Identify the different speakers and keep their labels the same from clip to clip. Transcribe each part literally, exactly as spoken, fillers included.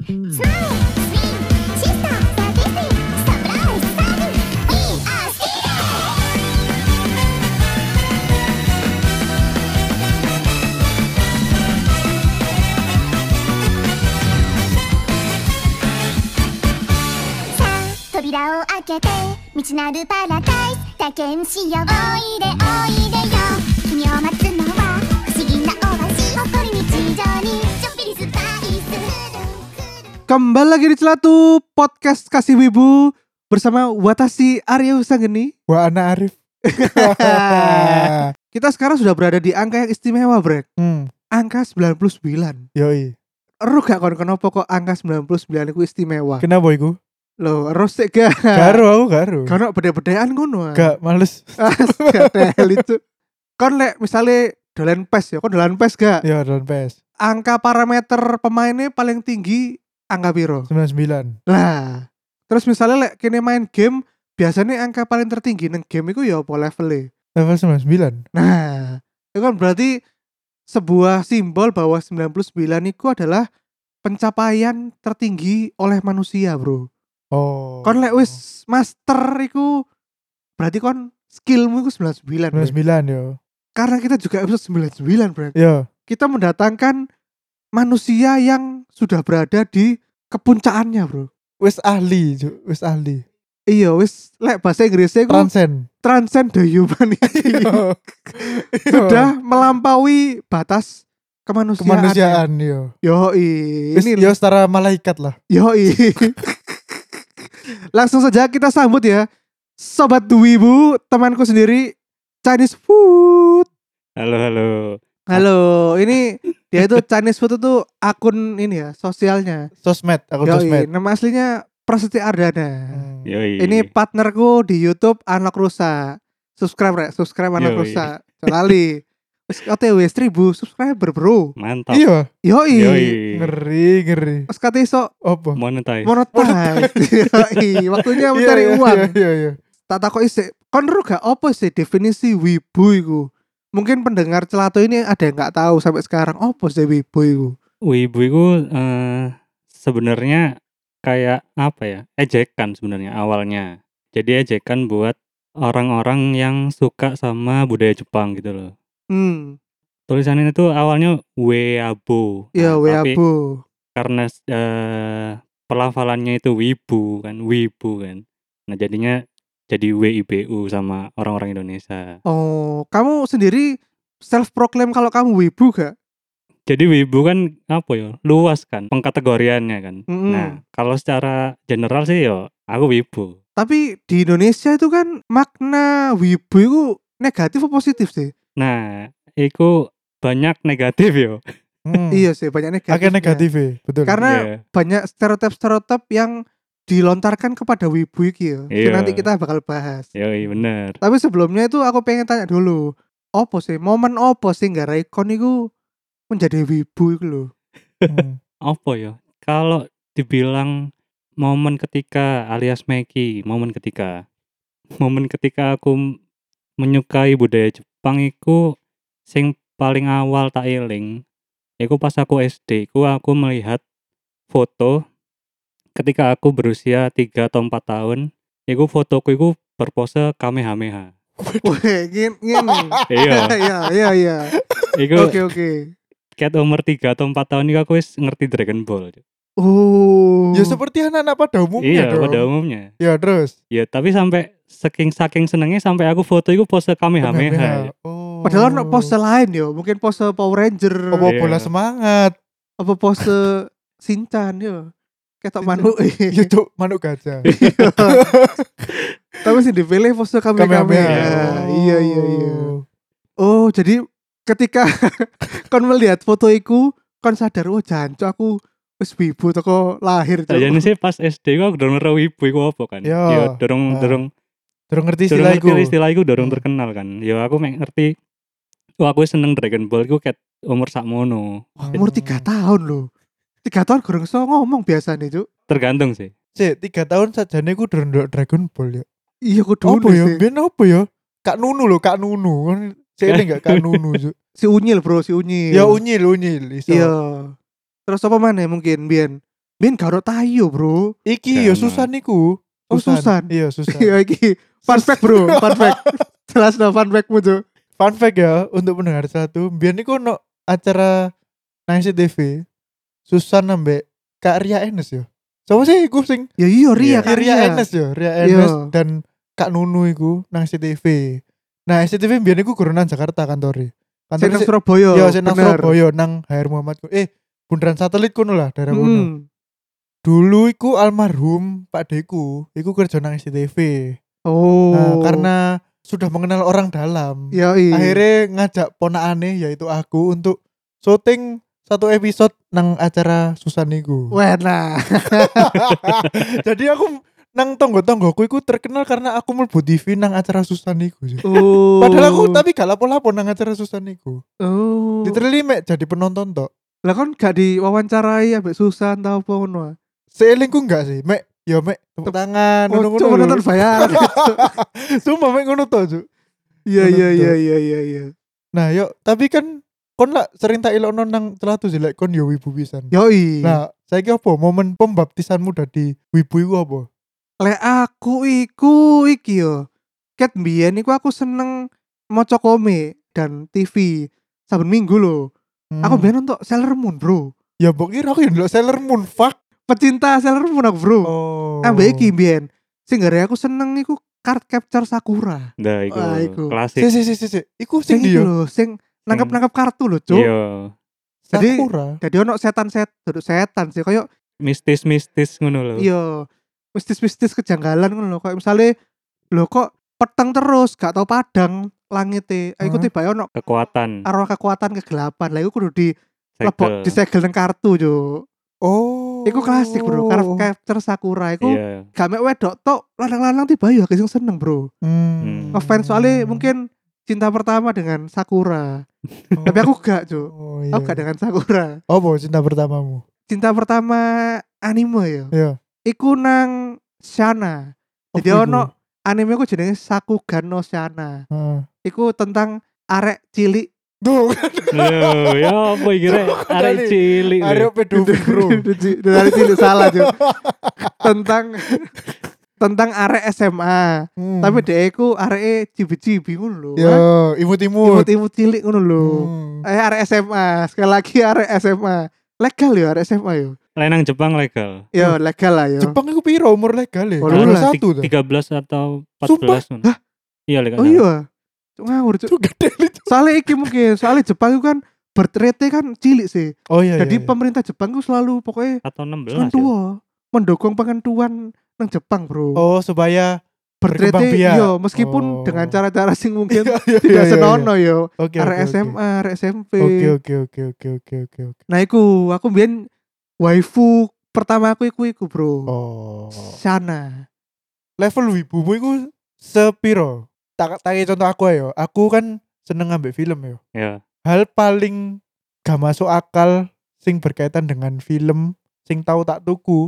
Speaker 1: 扉を開けて未知なるパラダイス体験しよう。おいでおいでよ君を待つのは不思議なオアシス誇り日常にちょっぴりスパイス。
Speaker 2: Kembali lagi di Celatu Podcast Kasih Wibu bersama Watashi Arya Wisanggeni.
Speaker 3: Wah, anak Arif.
Speaker 2: Kita sekarang sudah berada di angka yang istimewa, Brek.
Speaker 3: Hmm.
Speaker 2: Angka sembilan puluh sembilan.
Speaker 3: Yoi.
Speaker 2: Ero gak kon kenapa kok angka sembilan puluh sembilan itu istimewa?
Speaker 3: Kenapa iku?
Speaker 2: Loh, ero sik gak?
Speaker 3: Karo aku karo.
Speaker 2: Karena beda-bedaan ngono.
Speaker 3: Gak males.
Speaker 2: Gak tel itu. Kon lek misale dolan pes ya, kon dolan pes gak?
Speaker 3: Ya, dolan P S.
Speaker 2: Angka parameter pemainnya paling tinggi angka piro?
Speaker 3: sembilan puluh sembilan.
Speaker 2: Lah, terus misalnya lek kene main game, biasanya angka paling tertinggi nang game iku ya apa levelnya?
Speaker 3: Level sembilan puluh sembilan.
Speaker 2: Nah, itu kan berarti sebuah simbol bahwa sembilan puluh sembilan itu adalah pencapaian tertinggi oleh manusia, bro.
Speaker 3: Oh.
Speaker 2: Kon lek wis master iku berarti kon skillmu iku sembilan puluh sembilan.
Speaker 3: sembilan puluh sembilan yo.
Speaker 2: Karena kita juga episode sembilan puluh sembilan, bro.
Speaker 3: Yo.
Speaker 2: Kita mendatangkan manusia yang sudah berada di kepuncakannya, bro.
Speaker 3: Wis ahli, Ju. Wis ahli.
Speaker 2: Iya, wis lek bahasa Inggrisnya iku
Speaker 3: Transcend.
Speaker 2: transcend the humanity. Sudah melampaui batas kemanusiaan.
Speaker 3: Kemanusiaan yo.
Speaker 2: Yoi,
Speaker 3: Wis
Speaker 2: ini
Speaker 3: yo setara malaikat lah.
Speaker 2: yoi. Langsung saja kita sambut ya Sobat Wibu, temanku sendiri Chinese Food.
Speaker 4: Halo, halo.
Speaker 2: Halo, ini dia itu Chinese Food itu akun ini ya, sosialnya.
Speaker 3: Sosmed, aku
Speaker 2: Yoi,
Speaker 3: sosmed.
Speaker 2: nama aslinya Prasetya Ardana.
Speaker 3: Hmm.
Speaker 4: Yoi.
Speaker 2: Ini partnerku di YouTube Anak Rusa. Subscribe rek, subscribe Anak
Speaker 4: Yoi.
Speaker 2: Rusa. Lali. Wis O T W seribu subscriber, bro.
Speaker 4: Mantap.
Speaker 3: Iya,
Speaker 2: Yoi.
Speaker 4: Yoi.
Speaker 3: ngeri, ngeri.
Speaker 2: Wis kate iso
Speaker 3: Apa?
Speaker 4: Monetize.
Speaker 2: monetize. Yoi, waktunya mencari
Speaker 3: Iya,
Speaker 2: uang.
Speaker 3: Iya, iya, iya.
Speaker 2: Tak takoki sik, kon ero gak apa sih definisi wibu iku? Mungkin pendengar Celatu ini ada yang gak tahu sampai sekarang apa sih wibu iku.
Speaker 4: Wibu itu eh, sebenarnya kayak apa ya? Ejekan sebenarnya awalnya. Jadi ejekan buat orang-orang yang suka sama budaya Jepang gitu loh.
Speaker 2: Hmm,
Speaker 4: Tulisannya itu awalnya weabo.
Speaker 2: ya
Speaker 4: Nah, tapi
Speaker 2: weabu.
Speaker 4: karena eh, pelafalannya itu wibu kan, wibu kan. Nah, jadinya jadi W I B U sama orang-orang Indonesia.
Speaker 2: Oh, kamu sendiri self proclaim kalau kamu wibu gak?
Speaker 4: Jadi wibu kan apa ya? Luas kan pengkategoriannya kan.
Speaker 2: Mm-mm.
Speaker 4: Nah, kalau secara general sih yo aku wibu.
Speaker 2: Tapi di Indonesia itu kan makna wibu itu negatif atau positif sih?
Speaker 4: Nah, itu banyak negatif yo.
Speaker 3: Hmm.
Speaker 2: Iya sih, banyak negatif.
Speaker 3: Agak negatif ya, betul.
Speaker 2: Karena
Speaker 4: Iya.
Speaker 2: banyak stereotip-stereotip yang dilontarkan kepada wibu iki ya. Itu
Speaker 4: Iya.
Speaker 2: nanti kita bakal bahas.
Speaker 4: Yoi, bener.
Speaker 2: Tapi sebelumnya itu aku pengen tanya dulu, apa sih momen apa sih nggarai kon iku menjadi wibu iku lho?
Speaker 3: Hmm.
Speaker 4: Apa ya? Kalau dibilang momen ketika alias Meki, momen ketika momen ketika aku m- menyukai budaya Jepang iku sing paling awal tak eling. Iku pas aku S D, iku aku melihat foto ketika aku berusia tiga atau empat tahun. Iku fotoku iku berpose Kamehameha.
Speaker 2: Wah, ngene ngene.
Speaker 4: Iya,
Speaker 2: Iya, iya, iya.
Speaker 4: iku
Speaker 2: Oke, oke.
Speaker 4: ket umur tiga atau empat tahun iku aku wis ngerti Dragon Ball.
Speaker 2: Oh.
Speaker 3: Ya seperti anak-anak pada umumnya
Speaker 4: Iya,
Speaker 3: dong.
Speaker 4: pada umumnya.
Speaker 3: Ya terus.
Speaker 4: Ya, tapi sampai saking saking senengnya sampai aku foto iku pose Kamehameha.
Speaker 3: Oh.
Speaker 2: Padahal ono pose lain yo, mungkin pose Power Ranger,
Speaker 3: Apa
Speaker 4: Iya.
Speaker 3: bola semangat.
Speaker 2: apa pose Shinchan yo. Ketok
Speaker 3: Shinchan.
Speaker 2: manuk.
Speaker 3: Ya tuh manuk gajah.
Speaker 2: Tapi sih dipilih pose kami kami.
Speaker 3: Kamehameha.
Speaker 2: Iya, iya, iya. Oh, jadi ketika kon melihat foto iku, kon sadar oh jancuk aku wis wibu teko lahir. Cuk.
Speaker 4: Sajane sih pas S D aku dorong ngerti wibu iku apa kan.
Speaker 3: Ya.
Speaker 4: Ya dorong
Speaker 3: Ah.
Speaker 4: dorong
Speaker 3: Terus ngerti
Speaker 4: dorong
Speaker 3: istilah
Speaker 4: ngerti
Speaker 3: iku.
Speaker 4: istilah iku dorong
Speaker 3: Hmm.
Speaker 4: terkenal kan. Ya aku mek ngerti. Wah, aku seneng Dragon Ball iku ket umur sakmono.
Speaker 2: Wah, umur tiga tahun loh. Tiga tahun gorong iso ngomong biasanya, Cuk.
Speaker 4: Tergantung sih.
Speaker 3: Sik, tiga tahun sajane ku durung ndelok Dragon Ball ya.
Speaker 2: Iya kudu
Speaker 3: Apa ya?
Speaker 2: sih.
Speaker 3: Ben apa ya? Kak Nunu loh, Kak Nunu. Saya ini enggak Kak Nunu, Cuk.
Speaker 2: Si Unyil, Bro, si Unyil.
Speaker 3: Ya unyil, unyil. Iso.
Speaker 2: Iya. Terus apa mana mungkin Bian? Ben gak ono Tayo, Bro.
Speaker 3: Iki yo
Speaker 4: Gak ono.
Speaker 3: Susan niku.
Speaker 2: Oh, Susan.
Speaker 3: Iya Susan.
Speaker 2: Iya iki. Fun fact, Bro. Fun fact. Jelas no fun fact-mu, Cuk.
Speaker 3: Fun fact ya untuk pendengar satu, biar niku ono acara nang C T V. Susan ambek Kak Ria Enes yo. Sopo sih iku sing
Speaker 2: Ya iya
Speaker 4: Iya,
Speaker 2: Ria,
Speaker 3: Kak
Speaker 2: Kak
Speaker 3: Ria
Speaker 2: Ria.
Speaker 3: Enes yo, Ria
Speaker 2: Iya.
Speaker 3: Enes dan Kak Nunu iku nang C T V. Nah, C T V biar niku gurunan Jakarta kantore.
Speaker 2: Sing nang
Speaker 3: si-
Speaker 2: Surabaya.
Speaker 3: Yo, sing nang
Speaker 2: bener.
Speaker 3: Surabaya nang H R Muhammad. Eh, bundaran satelit kono lah, daerah kono.
Speaker 2: Hmm.
Speaker 3: Dulu iku almarhum Pak Deku, iku kerja nang C T V.
Speaker 2: Oh.
Speaker 3: Nah, karena sudah mengenal orang dalam,
Speaker 2: ya iya.
Speaker 3: akhirnya ngajak ponakane yaitu aku untuk syuting satu episode nang acara Susan niku.
Speaker 2: Wah, nah.
Speaker 3: Jadi aku nang tonggo-tonggoku iku terkenal karena aku mlebu T V nang acara Susan niku. sih.
Speaker 2: Oh.
Speaker 3: Padahal aku tapi gak lapo-lapo nang acara Susan niku.
Speaker 2: Oh.
Speaker 3: Literally mek jadi penonton tok.
Speaker 2: Lah kan gak diwawancarai ambek Susan tau apa ngono.
Speaker 3: Seelingku enggak sih, mek ya mek tepuk tangan
Speaker 2: Oh,
Speaker 3: ngono-ngono.
Speaker 2: cuma
Speaker 3: lho.
Speaker 2: nonton bayaran.
Speaker 3: Sumpah mek ngono tok, Cuk.
Speaker 2: Iya iya iya iya iya iya.
Speaker 3: Nah, yuk, tapi kan kon lah sering tak elokno nang celatu sih lek kon yo wibu pisan.
Speaker 2: Yoi.
Speaker 3: Nah, saiki apa momen pembaptisanmu dadi wibu iku apa?
Speaker 2: Lek aku iku iki yo. Ket mbiyen iku aku seneng maca komik dan T V saben minggu lho.
Speaker 3: Hmm.
Speaker 2: Aku mbiyen nonton Sailor Moon, Bro.
Speaker 3: ya mbok kira aku yo ndelok Sailor Moon, fuck.
Speaker 2: Pecinta Sailor Moon aku, Bro.
Speaker 3: Oh.
Speaker 2: Ambek iki mbiyen. Sing gara aku seneng iku Card Capture Sakura.
Speaker 4: Nah, iku
Speaker 2: Wah, iku.
Speaker 4: klasik.
Speaker 3: Si si si si. si. Iku sing
Speaker 2: Sing
Speaker 3: ndi
Speaker 2: iki
Speaker 3: yo?
Speaker 2: lho, sing nangkep-nangkep kartu lho, Cuk.
Speaker 4: Iya,
Speaker 2: Jadi-
Speaker 3: Sakura.
Speaker 2: Jadi ono setan-set, duduk setan sih koyo
Speaker 4: mistis-mistis ngono lho.
Speaker 2: iya mistis-mistis kejanggalan ngono lho. Kayak misale lho kok peteng terus gak tau padang langite. Iku
Speaker 3: Hah?
Speaker 2: tiba ono
Speaker 4: Kekuatan.
Speaker 2: arwah kekuatan kegelapan. Lah iku kudu di lebok
Speaker 4: Segel.
Speaker 2: disegel nang kartu, Cuk.
Speaker 3: Oh.
Speaker 2: Iku klasik, Bro. Card Capture Sakura iku
Speaker 4: Iya.
Speaker 2: gak mek wedok tok, lanang-lanang tiba yo sing seneng, Bro.
Speaker 3: Hmm.
Speaker 2: Ngefans soalnya mungkin cinta pertama dengan Sakura. Tapi aku gak, Cuk.
Speaker 3: Oh, iya.
Speaker 2: Aku gak dengan Sakura.
Speaker 3: Apa cinta pertamamu?
Speaker 2: Cinta pertama anime ya.
Speaker 3: Iya.
Speaker 2: Iku nang Shana. Jadi
Speaker 3: Apa iku?
Speaker 2: ono anime ku jenenge Sakugan no Shana.
Speaker 3: Heeh.
Speaker 2: Iku tentang arek cilik.
Speaker 3: Duh,
Speaker 4: Loh, ya apa iki rek?
Speaker 3: Coba
Speaker 4: Arek
Speaker 3: nih.
Speaker 4: cilik. lho.
Speaker 3: Aryo pedofil, Bro.
Speaker 2: Dari cilik salah, Cuk. Tentang tentang arek S M A.
Speaker 3: Hmm.
Speaker 2: Tapi dhek iku areke cibi-cibi ngono lho.
Speaker 3: yo imut-imut.
Speaker 2: Imut-imut cilik ngono lho.
Speaker 3: Hmm.
Speaker 2: Eh arek S M A, sekali lagi arek S M A. Legal ya arek S M A yo.
Speaker 4: Lenang Jepang legal.
Speaker 2: Yo legal lah yo.
Speaker 3: Jepang iku piro umur legal ya?
Speaker 2: Oh,
Speaker 3: dua puluh
Speaker 2: lulas.
Speaker 3: satu tuh.
Speaker 4: tiga belas atau empat
Speaker 3: Sumpah?
Speaker 4: belas ngono. Iya legal.
Speaker 2: Oh iya. Cuk ngawur, Cuk.
Speaker 3: Itu gede itu.
Speaker 2: Soalnya iki mungkin, soalnya Jepang itu kan birth rate kan cilik sih.
Speaker 3: Oh iya.
Speaker 2: Jadi
Speaker 3: iya, iya.
Speaker 2: pemerintah Jepang itu selalu pokoknya
Speaker 4: Atau enam belas.
Speaker 2: kan
Speaker 4: Ya?
Speaker 2: tua, mendukung pengentuan nang Jepang, Bro.
Speaker 3: Oh, supaya
Speaker 2: birth
Speaker 3: berkembang
Speaker 2: rate
Speaker 3: biak.
Speaker 2: yo meskipun
Speaker 3: Oh.
Speaker 2: dengan cara-cara sing mungkin
Speaker 3: Iya, iya,
Speaker 2: tidak
Speaker 3: iya, iya.
Speaker 2: senono yo.
Speaker 3: Oke.
Speaker 2: Arek
Speaker 3: oke,
Speaker 2: S M A, arek S M P.
Speaker 3: Oke oke oke oke oke oke oke.
Speaker 2: Nah, iku aku mbiyen waifu pertama aku iku iku, Bro.
Speaker 3: Oh.
Speaker 2: Shana.
Speaker 3: Level wibumu iku sepiro? Tak tak contoh aku ayo. Aku kan seneng ngambil film yo.
Speaker 4: Ya.
Speaker 3: Hal paling gak masuk akal sing berkaitan dengan film sing tahu tak tuku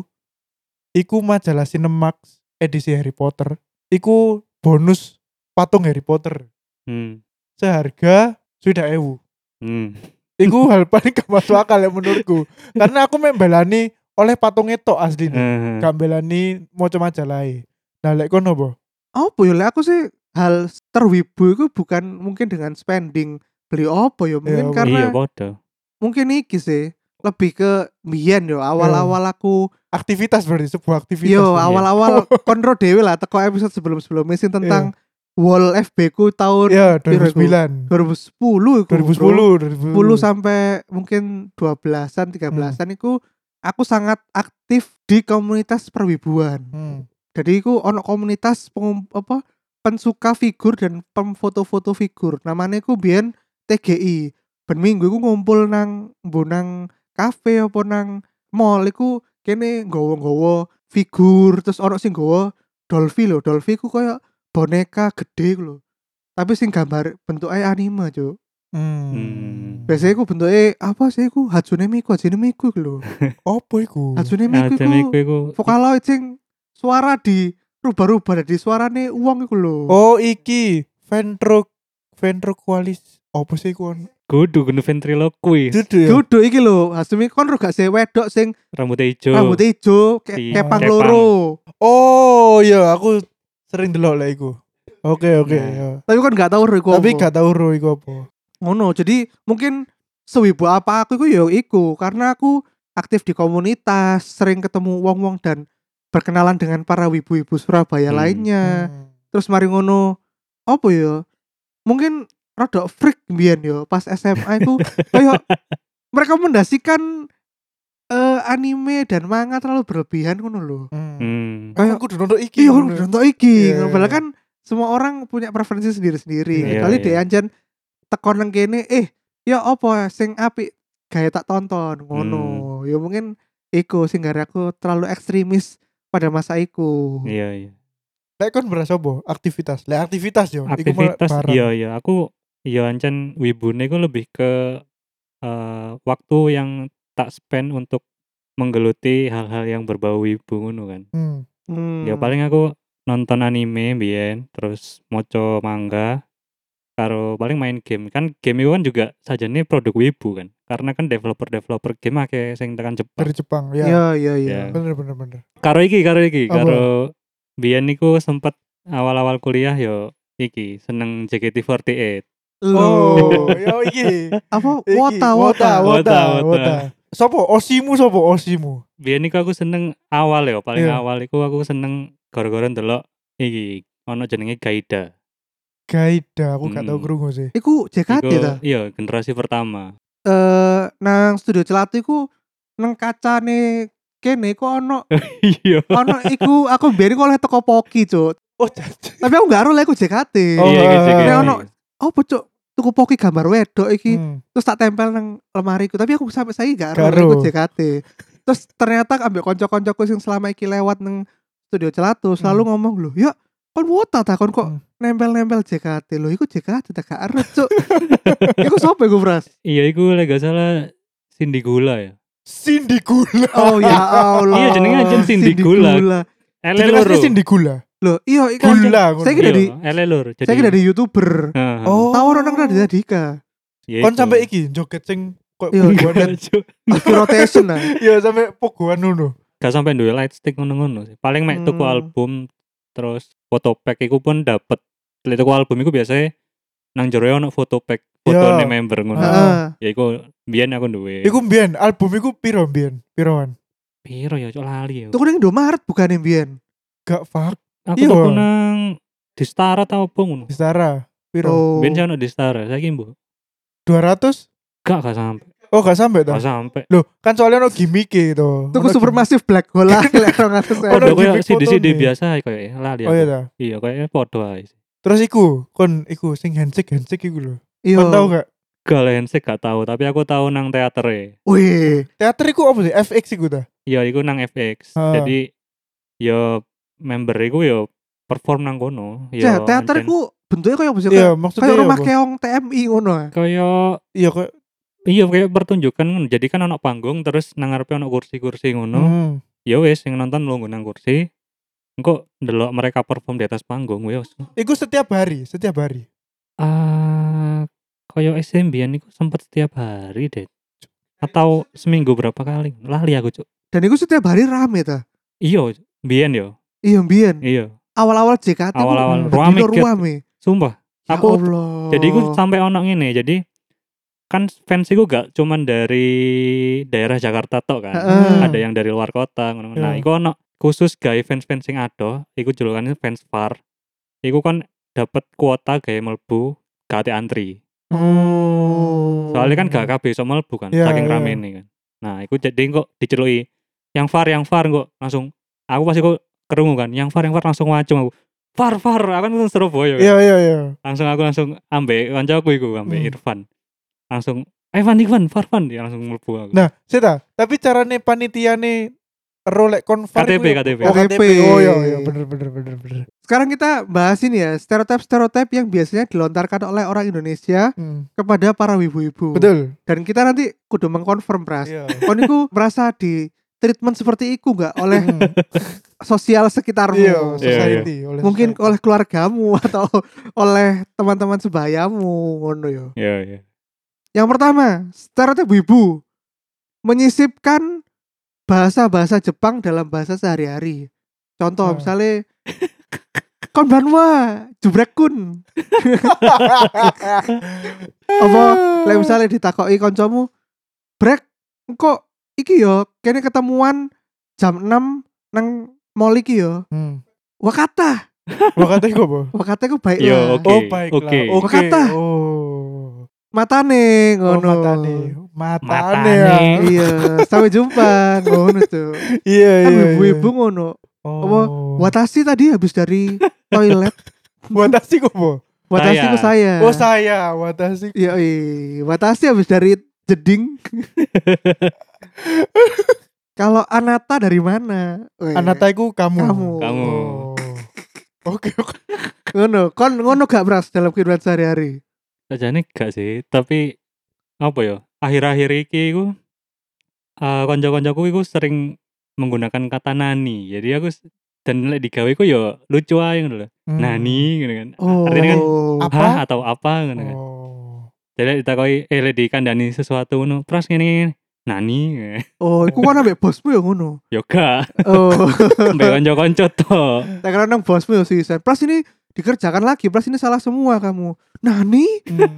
Speaker 3: iku majalah Cinemax edisi Harry Potter. Iku bonus patung Harry Potter
Speaker 4: Hmm.
Speaker 3: seharga sudah ewu.
Speaker 4: Hmm.
Speaker 3: Iku hal paling gak masuk akal ya menurutku. Karena aku membelani oleh patungnya tok asli nih.
Speaker 4: Eh,
Speaker 3: Gak belani moco majalah. Nah lek kono apa?
Speaker 2: Apa ya lek aku sih hal terwibu itu bukan mungkin dengan spending beli apa ya mungkin
Speaker 3: apa?
Speaker 2: karena
Speaker 4: Iya podo.
Speaker 2: mungkin iki sih lebih ke mbiyen yo awal-awal aku
Speaker 3: Aktivitas berarti sebuah aktivitas.
Speaker 2: yo
Speaker 3: berarti.
Speaker 2: awal-awal kontrol dewe lah teko episode sebelum-sebelumnya sih tentang wall F B ku tahun
Speaker 3: Iya,
Speaker 2: piro
Speaker 3: dua ribu
Speaker 2: iku?
Speaker 3: sembilan.
Speaker 2: dua ribu sepuluh iku,
Speaker 3: dua ribu
Speaker 2: bro.
Speaker 3: sepuluh, dua ribu
Speaker 2: sepuluh sampai mungkin dua belasan tiga belasan iku aku sangat aktif di komunitas perwibuan.
Speaker 3: Hmm.
Speaker 2: Jadi iku ono komunitas pengum, apa pensuka figur dan pemfoto-foto figur. Namanya iku biyen T G I. Ben minggu iku ngumpul nang mbonang kafe apa nang mall iku kene nggawa-nggawa figur terus ono sing nggawa Dolphy lho. Dolphy ku koyo boneka gede lho. Tapi sing gambar bentuknya anime, Cuk.
Speaker 3: Hmm.
Speaker 4: Hmm.
Speaker 2: Biasanya iku bentuknya apa sih iku Hatsune Miku, Hatsune Miku iku lho.
Speaker 3: Apa iku?
Speaker 2: Hatsune
Speaker 4: Nah,
Speaker 2: Miku
Speaker 4: Miku
Speaker 2: iku
Speaker 4: iku
Speaker 2: Vocaloid sing suara di rubah-rubah dari suarane uang iku lho.
Speaker 3: Oh iki Ventro Ventroqualis. Apa sih iku?
Speaker 4: Kudu kudu ventriloquist.
Speaker 3: Dudu ya.
Speaker 2: Duduk iki lho, Hasumi kon ro gak sih wedok sing
Speaker 4: Rambutnya hijau.
Speaker 2: rambutnya ijo, kayak
Speaker 4: Si
Speaker 2: kepang
Speaker 4: Kepang.
Speaker 2: loro.
Speaker 3: Oh iya, aku sering delok lah iku. Oke oke.
Speaker 4: Nah.
Speaker 3: ya.
Speaker 2: Tapi kon gak tau ro iku.
Speaker 3: Tapi
Speaker 2: apa.
Speaker 3: gak tau ro iku apa.
Speaker 2: Ngono, jadi mungkin sewibu apa aku iku ya iku karena aku aktif di komunitas, sering ketemu wong-wong dan berkenalan dengan para wibu-wibu Surabaya
Speaker 4: Hmm.
Speaker 2: lainnya.
Speaker 3: Hmm.
Speaker 2: Terus mari ngono, apa ya? Mungkin rada freak mbiyen yo pas S M A iku kayak merekomendasikan eh, anime dan manga terlalu berlebihan ngono lho.
Speaker 3: Hmm.
Speaker 4: Hmm.
Speaker 3: Kayak aku udah nonton iki.
Speaker 2: Iya,
Speaker 3: ngono.
Speaker 2: kan nonton iki.
Speaker 3: Iya,
Speaker 2: Padahal
Speaker 3: iya.
Speaker 2: kan semua orang punya preferensi sendiri-sendiri.
Speaker 3: Iya,
Speaker 2: Kali
Speaker 4: iya.
Speaker 2: dhek anjen tekon nang kene, eh ya apa sing apik gawe tak tonton ngono. Ya mungkin iku sing gara aku terlalu ekstremis pada masa iku.
Speaker 4: Iya iya.
Speaker 3: Lek kon berasa apa? Aktivitas. Lek aktivitas yo. iku malah
Speaker 4: Aktivitas
Speaker 3: barang.
Speaker 4: iya iya. Aku iya ancen wibune ku lebih ke eh, waktu yang tak spend untuk menggeluti hal-hal yang berbau wibu ngono kan.
Speaker 3: Hmm.
Speaker 2: Hmm.
Speaker 4: Ya paling aku nonton anime mbiyen, terus maca manga, karo paling main game. Kan game itu kan juga sajane produk wibu kan. Karena kan developer-developer game akeh sing tekan Jepang.
Speaker 3: Dari Jepang ya.
Speaker 2: Iya, iya, iya.
Speaker 4: Ya.
Speaker 3: Bener bener bener.
Speaker 4: Karo iki, karo iki,
Speaker 3: Apa?
Speaker 4: karo biyen niku sempet awal-awal kuliah yo iki seneng J K T empat delapan.
Speaker 3: Oh, yo iki.
Speaker 2: Apa
Speaker 3: Iki,
Speaker 2: wota
Speaker 3: wota,
Speaker 2: wota.
Speaker 3: wota,
Speaker 4: Wota, wota.
Speaker 3: wota. Sopo? Osimu sopo? Osimu.
Speaker 4: Biyen niku aku seneng awal ya, paling
Speaker 3: Iya.
Speaker 4: awal iku aku seneng gara-gara ndelok iki ono jenenge Gaida.
Speaker 3: Gaida, aku gak tau
Speaker 4: Hmm.
Speaker 3: krungu sih.
Speaker 2: Iku J K T
Speaker 4: Iku
Speaker 2: ta?
Speaker 4: iya generasi pertama.
Speaker 2: Eh nang studio Celatu iku nang kacane kene iku ono
Speaker 4: Iya.
Speaker 2: ono iku aku biyen iku oleh teko Poki, Cuk.
Speaker 3: Oh, jadi.
Speaker 2: Tapi aku gak ero lek iku J K T.
Speaker 3: Oh,
Speaker 4: Iya iki J K T.
Speaker 2: Nek ono- Apa, Cuk? Tuku Poki gambar wedok iki.
Speaker 3: Hmm.
Speaker 2: Terus tak tempel nang lemariku, tapi aku sampai saiki gak
Speaker 3: Gak
Speaker 2: ero lek iku
Speaker 3: ero.
Speaker 2: J K T. Terus ternyata ambek kanca-kancaku sing selama iki lewat nang studio Celatu selalu
Speaker 3: Hmm.
Speaker 2: ngomong lho, "Ya, kon wota ta kon kok
Speaker 3: Hmm.
Speaker 2: nempel-nempel J K T lho, iku J K T tak gak ero, Cuk." Iku sapa iku, Pras?
Speaker 4: Iya iku lek gak salah Cindy Gula ya.
Speaker 3: Cindy Gula.
Speaker 2: Oh ya Allah.
Speaker 4: Iya, jenenge aja Cindy Gula. Ele
Speaker 3: Jenenge
Speaker 4: loro.
Speaker 3: asli Cindy Gula.
Speaker 2: Loh, iya iku
Speaker 3: Gula.
Speaker 2: Saya kira
Speaker 4: Iya,
Speaker 2: dari
Speaker 4: ele loro. Jadi
Speaker 2: saya kira dari YouTuber.
Speaker 4: Heeh.
Speaker 3: Oh.
Speaker 2: Tahu orang Raditya Dika.
Speaker 4: Ya
Speaker 3: Kon
Speaker 4: iku.
Speaker 3: sampai iki joget sing kok
Speaker 2: Iya,
Speaker 3: pogoan.
Speaker 4: Enggak, Cuk.
Speaker 2: Di rotation lah.
Speaker 3: Iya, sampai pogoan ngono.
Speaker 4: Gak sampai duwe light stick ngono-ngono sih. Paling mek tuku
Speaker 2: Hmm.
Speaker 4: album terus foto pack iku pun dapet. Lek tuku album iku biasanya nang jero ono foto pack fotone
Speaker 3: Iya.
Speaker 4: member ngono.
Speaker 2: Heeh.
Speaker 4: Ya iku biyen aku duwe.
Speaker 3: Iku mbiyen album iku piro mbiyen? Piroan?
Speaker 4: piro ya cok lali ya.
Speaker 2: Tuku ning Indomaret bukan yang Bian.
Speaker 3: Gak fuck.
Speaker 4: Aku
Speaker 3: iya.
Speaker 4: tuku nang Distara tau apa ngono.
Speaker 3: Setara. Piro?
Speaker 2: Oh.
Speaker 4: Biyen saya ono Distara, saiki mbok.
Speaker 3: dua ratus?
Speaker 4: Gak gak sampai.
Speaker 3: Oh, gak sampai ta?
Speaker 4: Gak sampai.
Speaker 3: Loh, kan soalnya ono gimmick itu.
Speaker 2: Tuku Supermassive Black Hole lah lek rong atus
Speaker 3: Oh,
Speaker 4: Padha
Speaker 3: Ono
Speaker 4: koyo
Speaker 3: gimmick
Speaker 4: C D C D
Speaker 3: fotone.
Speaker 4: biasa kayak lali
Speaker 3: Oh iya
Speaker 4: aku.
Speaker 3: ta.
Speaker 4: Iya kayaknya podo ae. sih.
Speaker 3: Terus iku, kon iku sing handshake handshake iku lho.
Speaker 2: Iya.
Speaker 3: Kon tau gak?
Speaker 4: Gak lensek gak tahu, tapi aku tahu nang teater e.
Speaker 2: Wih.
Speaker 3: Teater iku apa sih? F X iku ta?
Speaker 4: Iya, iku nang F X.
Speaker 3: Ah.
Speaker 4: Jadi ya member iku ya perform nang kono.
Speaker 2: Ya,
Speaker 4: Ya
Speaker 2: teater
Speaker 4: ancen-
Speaker 2: iku bentuknya kayak apa sih?
Speaker 3: Iya,
Speaker 2: Kayak
Speaker 3: maksudnya
Speaker 2: kayak
Speaker 3: ya
Speaker 2: rumah
Speaker 3: apa?
Speaker 2: keong T M I ngono. ah.
Speaker 4: kayak
Speaker 3: Iya kok.
Speaker 4: iya kayak pertunjukan ngono. Jadi kan ono panggung terus nang ngarepe ono kursi-kursi ngono.
Speaker 3: Hmm.
Speaker 4: Ya wis sing nonton lungguh nang kursi. Engko ndelok mereka perform di atas panggung wis.
Speaker 3: Iku setiap hari, setiap hari.
Speaker 4: Ah, kayak S M biyen iku sempet setiap hari deh. Atau seminggu berapa kali? Lali aku, Cuk.
Speaker 2: Dan itu setiap hari rame ta.
Speaker 4: Iya, biyen yo.
Speaker 2: Iya, Bian.
Speaker 4: Iya.
Speaker 2: Awal-awal J K T ku
Speaker 4: Awal-awal
Speaker 2: bedino
Speaker 4: ruame, Ket.
Speaker 2: ruame.
Speaker 4: Sumpah.
Speaker 2: Ya
Speaker 4: Aku
Speaker 2: Allah.
Speaker 4: jadi iku sampai ono ngene. Jadi kan fans iku gak cuman dari daerah Jakarta tok kan.
Speaker 2: Heeh.
Speaker 4: Ada yang dari luar kota ngono. Nah,
Speaker 3: Iya.
Speaker 4: iku ono khusus gawe fans-fans sing ado, iku julukannya fans far. Iku kan dapat kuota gawe mlebu gak ate antri.
Speaker 2: Oh.
Speaker 4: Soalnya kan gak kabeh iso mlebu kan,
Speaker 3: Iya,
Speaker 4: saking
Speaker 3: iya.
Speaker 4: ramene kan. Nah, iku jadi kok diceluki yang far yang far kok langsung aku pasti kok kerungu kan, yang far yang far langsung wacung aku. Far far, aku kan wong Surabaya kan.
Speaker 3: Iya, iya, iya.
Speaker 4: Langsung aku langsung ambek kancaku iku, ambek
Speaker 3: Hmm.
Speaker 4: Irfan. Langsung, "Ivan, Ivan, far fan." Dia langsung mlebu aku.
Speaker 3: Nah, seta, tapi carane panitiane rolek konvar
Speaker 4: K T P,
Speaker 3: iku ya-
Speaker 4: K T P.
Speaker 3: Oh, K T P.
Speaker 2: K T P.
Speaker 3: Oh iya, iya, bener bener bener bener.
Speaker 2: Sekarang kita bahas ini ya, stereotip-stereotip yang biasanya dilontarkan oleh orang Indonesia
Speaker 3: Hmm.
Speaker 2: kepada para wibu-wibu.
Speaker 3: Betul.
Speaker 2: Dan kita nanti kudu mengkonfirm, Pras.
Speaker 3: Iya.
Speaker 2: Kon iku merasa di treatment seperti itu gak oleh
Speaker 3: Hmm.
Speaker 2: sosial sekitarmu?
Speaker 3: Iya,
Speaker 4: Iya,
Speaker 3: society. oleh
Speaker 2: Mungkin
Speaker 3: society.
Speaker 2: oleh keluargamu atau oleh teman-teman sebayamu ngono yo.
Speaker 4: Iya, iya.
Speaker 2: Yang pertama, stereotip wibu. Menyisipkan bahasa-bahasa Jepang dalam bahasa sehari-hari. Contoh
Speaker 3: Ah.
Speaker 2: misalnya konbanwa, jubrekun. Apa lek misalnya ditakoki kancamu, "Brek, kok iki yo kene ketemuan jam enam nang mall iki yo."
Speaker 3: Hmm.
Speaker 2: Wakata.
Speaker 3: Wakate kok apa?
Speaker 2: Wakata ku baik
Speaker 4: Yo,
Speaker 2: lah.
Speaker 4: oke.
Speaker 3: Oh baiklah.
Speaker 4: oke.
Speaker 3: Oke.
Speaker 2: Wakata.
Speaker 3: Oh.
Speaker 2: Matane
Speaker 3: Oh
Speaker 2: ngono.
Speaker 3: matane. Matane
Speaker 4: Matane.
Speaker 3: ya.
Speaker 2: Iya, sampai jumpa ngono tuh.
Speaker 3: Iya
Speaker 2: Kan
Speaker 3: iya.
Speaker 2: ibu-ibu ngono. Apa
Speaker 3: Oh.
Speaker 2: Watashi tadi habis dari toilet.
Speaker 3: Watashi kok apa?
Speaker 2: Watashi ku saya.
Speaker 3: Oh saya Watashi.
Speaker 2: Iya, iya. Watashi habis dari jeding. Kalau Anata dari mana? Weh,
Speaker 3: Anata iku kamu.
Speaker 2: Kamu.
Speaker 4: Kamu.
Speaker 3: Oh. Oke oke.
Speaker 2: Ngono, kon ngono gak Bras dalam kehidupan sehari-hari?
Speaker 4: Sajane gak sih, tapi apa ya? Akhir-akhir iki iku eh kanca-kancaku iku sering menggunakan kata nani. Jadi aku s- dan lek digawe iku ya lucu ae ngono lho.
Speaker 3: Hmm.
Speaker 4: Nani ngono kan.
Speaker 2: Oh.
Speaker 4: Artinya kan
Speaker 3: Apa?
Speaker 4: hah atau apa ngono kan.
Speaker 3: Oh.
Speaker 4: Jadi lek ditakoki eh lek dikandani sesuatu ngono, "Pras ngene ngene." Nani.
Speaker 2: Oh, iku kan ambek bosmu ya ngono.
Speaker 4: Yo gak,
Speaker 2: Oh.
Speaker 4: mbek kanca-kanca to.
Speaker 2: Tak kira nang bosmu ya sih. Pras ini dikerjakan lagi, Pras ini salah semua kamu. Nani?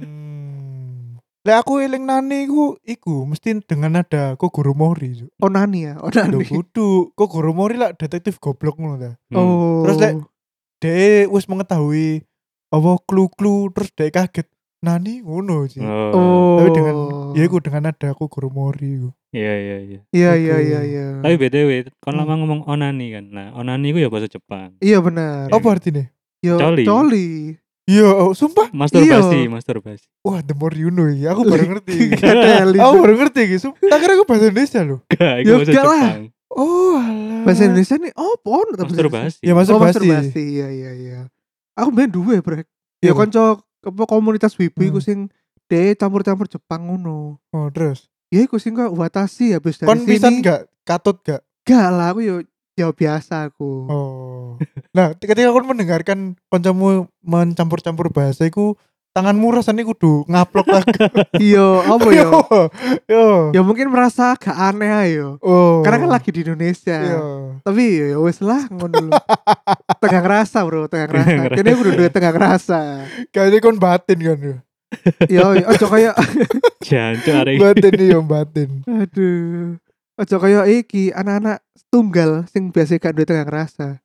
Speaker 3: Hmm. Lah aku eling nani iku iku mesti dengan nada Kogoro Mori. Cuk.
Speaker 2: Oh Nani ya, oh
Speaker 3: Lho
Speaker 2: Nani.
Speaker 3: kudu Kogoro Mori lah detektif goblok ngono ta.
Speaker 4: Hmm.
Speaker 2: Oh.
Speaker 3: Terus lek Dek wis mengetahui apa clue-clue terus dek kaget. Nani ngono sih.
Speaker 4: Oh.
Speaker 2: Oh.
Speaker 3: Tapi dengan ya iku dengan nada Kogoro Mori iku.
Speaker 4: Iya iya iya.
Speaker 2: Iya
Speaker 3: Iku.
Speaker 2: iya iya iya.
Speaker 4: Tapi B T W, kon
Speaker 3: Hmm.
Speaker 4: lama ngomong onani kan. Nah, onani iku ya bahasa Jepang.
Speaker 2: Iya benar.
Speaker 4: Iya.
Speaker 3: Apa artinya?
Speaker 2: Yo,
Speaker 4: Coli.
Speaker 2: coli.
Speaker 3: Iya, oh, sumpah.
Speaker 4: Masturbasi,
Speaker 2: Iya.
Speaker 4: masturbasi.
Speaker 3: Wah, the more you know ya. Aku baru ngerti.
Speaker 2: Gak ada
Speaker 3: Aku baru ngerti iki. Sumpah. Tak kira aku bahasa Indonesia loh.
Speaker 4: Gak,
Speaker 2: Ya
Speaker 4: iku bahasa
Speaker 2: enggak lah.
Speaker 4: Jepang.
Speaker 3: Oh, alah.
Speaker 2: Bahasa Indonesia nih oh pon
Speaker 4: Masturbasi.
Speaker 3: Ya
Speaker 2: Oh,
Speaker 3: masturbasi.
Speaker 2: masturbasi. Iya iya iya. Aku main duwe, Brek. Ya
Speaker 3: Iya, Bro.
Speaker 2: kanca apa komunitas wibu iku
Speaker 3: Hmm.
Speaker 2: sing de campur-campur Jepang ngono.
Speaker 3: Oh, terus.
Speaker 2: Ya iku sing kok Watashi habis dari
Speaker 3: Kon
Speaker 2: sini.
Speaker 3: pisan gak katut gak?
Speaker 2: Gak lah aku yo ya biasa aku.
Speaker 3: Oh. Nah, ketika kon mendengarkan kancamu mencampur-campur bahasa iku tanganmu rasanya kudu ngaplok lagi.
Speaker 2: Iya, apa yo?
Speaker 3: Yo.
Speaker 2: Ya mungkin merasa agak aneh ayo.
Speaker 3: Oh.
Speaker 2: Karena kan lagi di Indonesia.
Speaker 3: Iya.
Speaker 2: Tapi ya wes lah ngono lho. Tegang rasa, Bro, tegang rasa.
Speaker 4: Tegang
Speaker 2: Kene kudu duwe tegang rasa.
Speaker 3: Kayaknya kon batin kan yo.
Speaker 2: Yo, ojo kaya
Speaker 4: Jancuk arek iki.
Speaker 3: Batin nih yo batin.
Speaker 2: aduh. Ojo kaya iki anak-anak tunggal sing biasa gak duwe tegang rasa.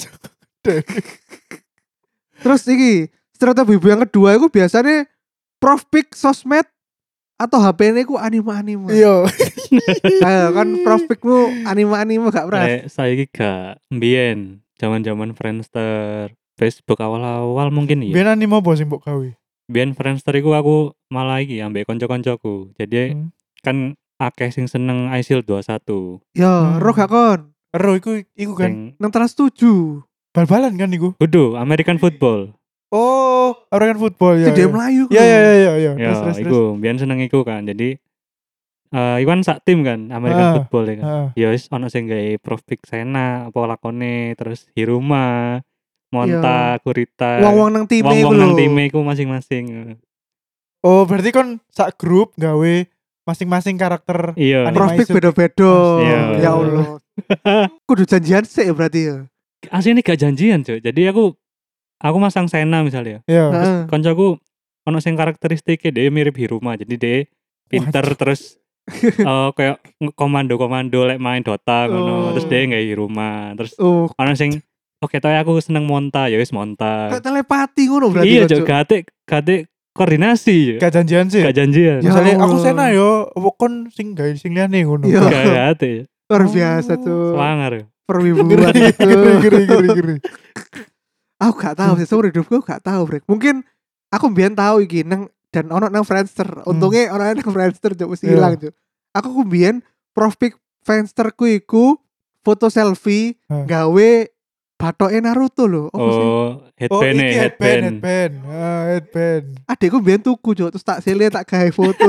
Speaker 2: Terus iki stereotip ibu yang kedua itu biasanya profpik sosmed atau H P-ne ku anime-anime.
Speaker 3: Iya.
Speaker 2: Ayo kan profpikmu anime-anime gak pras.
Speaker 4: Lek saiki gak mbiyen, zaman-zaman Friendster, Facebook awal-awal mungkin iya.
Speaker 3: Biyen anime apa sing mbok gawe?
Speaker 4: Biyen Friendster iku aku malah iki ambek kanca-kancaku. Jadi
Speaker 3: Hmm.
Speaker 4: kan akeh sing seneng Isil dua puluh satu.
Speaker 2: Yo,
Speaker 3: Hmm.
Speaker 2: roh gak kon?
Speaker 3: Ero iku iku kan
Speaker 4: Sing
Speaker 2: Nang teras tujuh.
Speaker 3: bal-balan kan iku.
Speaker 4: kudu American football.
Speaker 3: Oh, American football ya.
Speaker 2: Itu dia
Speaker 3: ya.
Speaker 2: Melayu.
Speaker 3: Ya ya ya ya ya.
Speaker 4: Ya,
Speaker 3: Terus terus terus.
Speaker 4: iku biyen seneng iku kan. Jadi eh iku kan sak tim kan American
Speaker 3: Ah,
Speaker 4: football ya kan.
Speaker 3: Heeh.
Speaker 4: Ya wis ono sing gawe Profik Sena apa lakone, terus Hiruma, Monta, Kurita.
Speaker 2: Wong-wong nang time iku
Speaker 4: Wong-wong nang
Speaker 2: lho.
Speaker 4: time iku masing-masing.
Speaker 3: Oh, berarti kon sak grup gawe masing-masing karakter.
Speaker 4: Iya.
Speaker 3: Anime
Speaker 2: Profpik
Speaker 3: isu.
Speaker 2: beda-beda.
Speaker 4: Iya.
Speaker 2: Ya Allah. Kudu janjian sih ya berarti ya.
Speaker 4: Aslinya gak janjian, Cuk. Jadi aku aku masang Sena misalnya.
Speaker 3: Iya.
Speaker 2: Heeh.
Speaker 4: Koncoku ono sing karakteristiknya dia mirip Hiruma. Jadi dia pinter terus eh kayak nge- komando-komando lek main Dota ngono.
Speaker 2: Oh.
Speaker 4: Terus dia nggak Hiruma. Terus
Speaker 2: Oh,
Speaker 4: ono sing oke toh aku seneng Monta, ya wis Monta.
Speaker 2: kayak telepati ngono berarti.
Speaker 4: Iya,
Speaker 2: Cok.
Speaker 4: Cuk. Gate gate koordinasi. Cuk.
Speaker 3: Gak janjian sih.
Speaker 4: Gak janjian.
Speaker 2: Ya
Speaker 3: Misalnya aku
Speaker 2: Allah.
Speaker 3: Sena yo, apa kon sing gawe sing liyane ngono.
Speaker 2: Iya.
Speaker 4: Gak gate.
Speaker 2: Luar biasa
Speaker 3: Oh.
Speaker 2: tuh.
Speaker 4: Semangar.
Speaker 2: Perwibuan
Speaker 3: Geri
Speaker 2: itu.
Speaker 3: geri geri geri geri.
Speaker 2: Aku gak tahu sih, seumur hidupku gak tahu, Brek. Mungkin aku mbiyen tahu iki nang dan ono nang Friendster. Untungnya ono nang Friendster Cuk mesti
Speaker 3: Iya.
Speaker 2: hilang, Cuk. Aku ku mbiyen profil Friendsterku iku foto selfie
Speaker 3: Hah.
Speaker 2: gawe batoke Naruto lho. Apa sih?
Speaker 4: Oh,
Speaker 3: Oh,
Speaker 4: headband
Speaker 3: iki
Speaker 4: nih,
Speaker 3: headband,
Speaker 4: headband.
Speaker 3: headband. Ah, headband.
Speaker 2: Adekku mbiyen tuku, Cuk, terus tak sele tak gawe foto.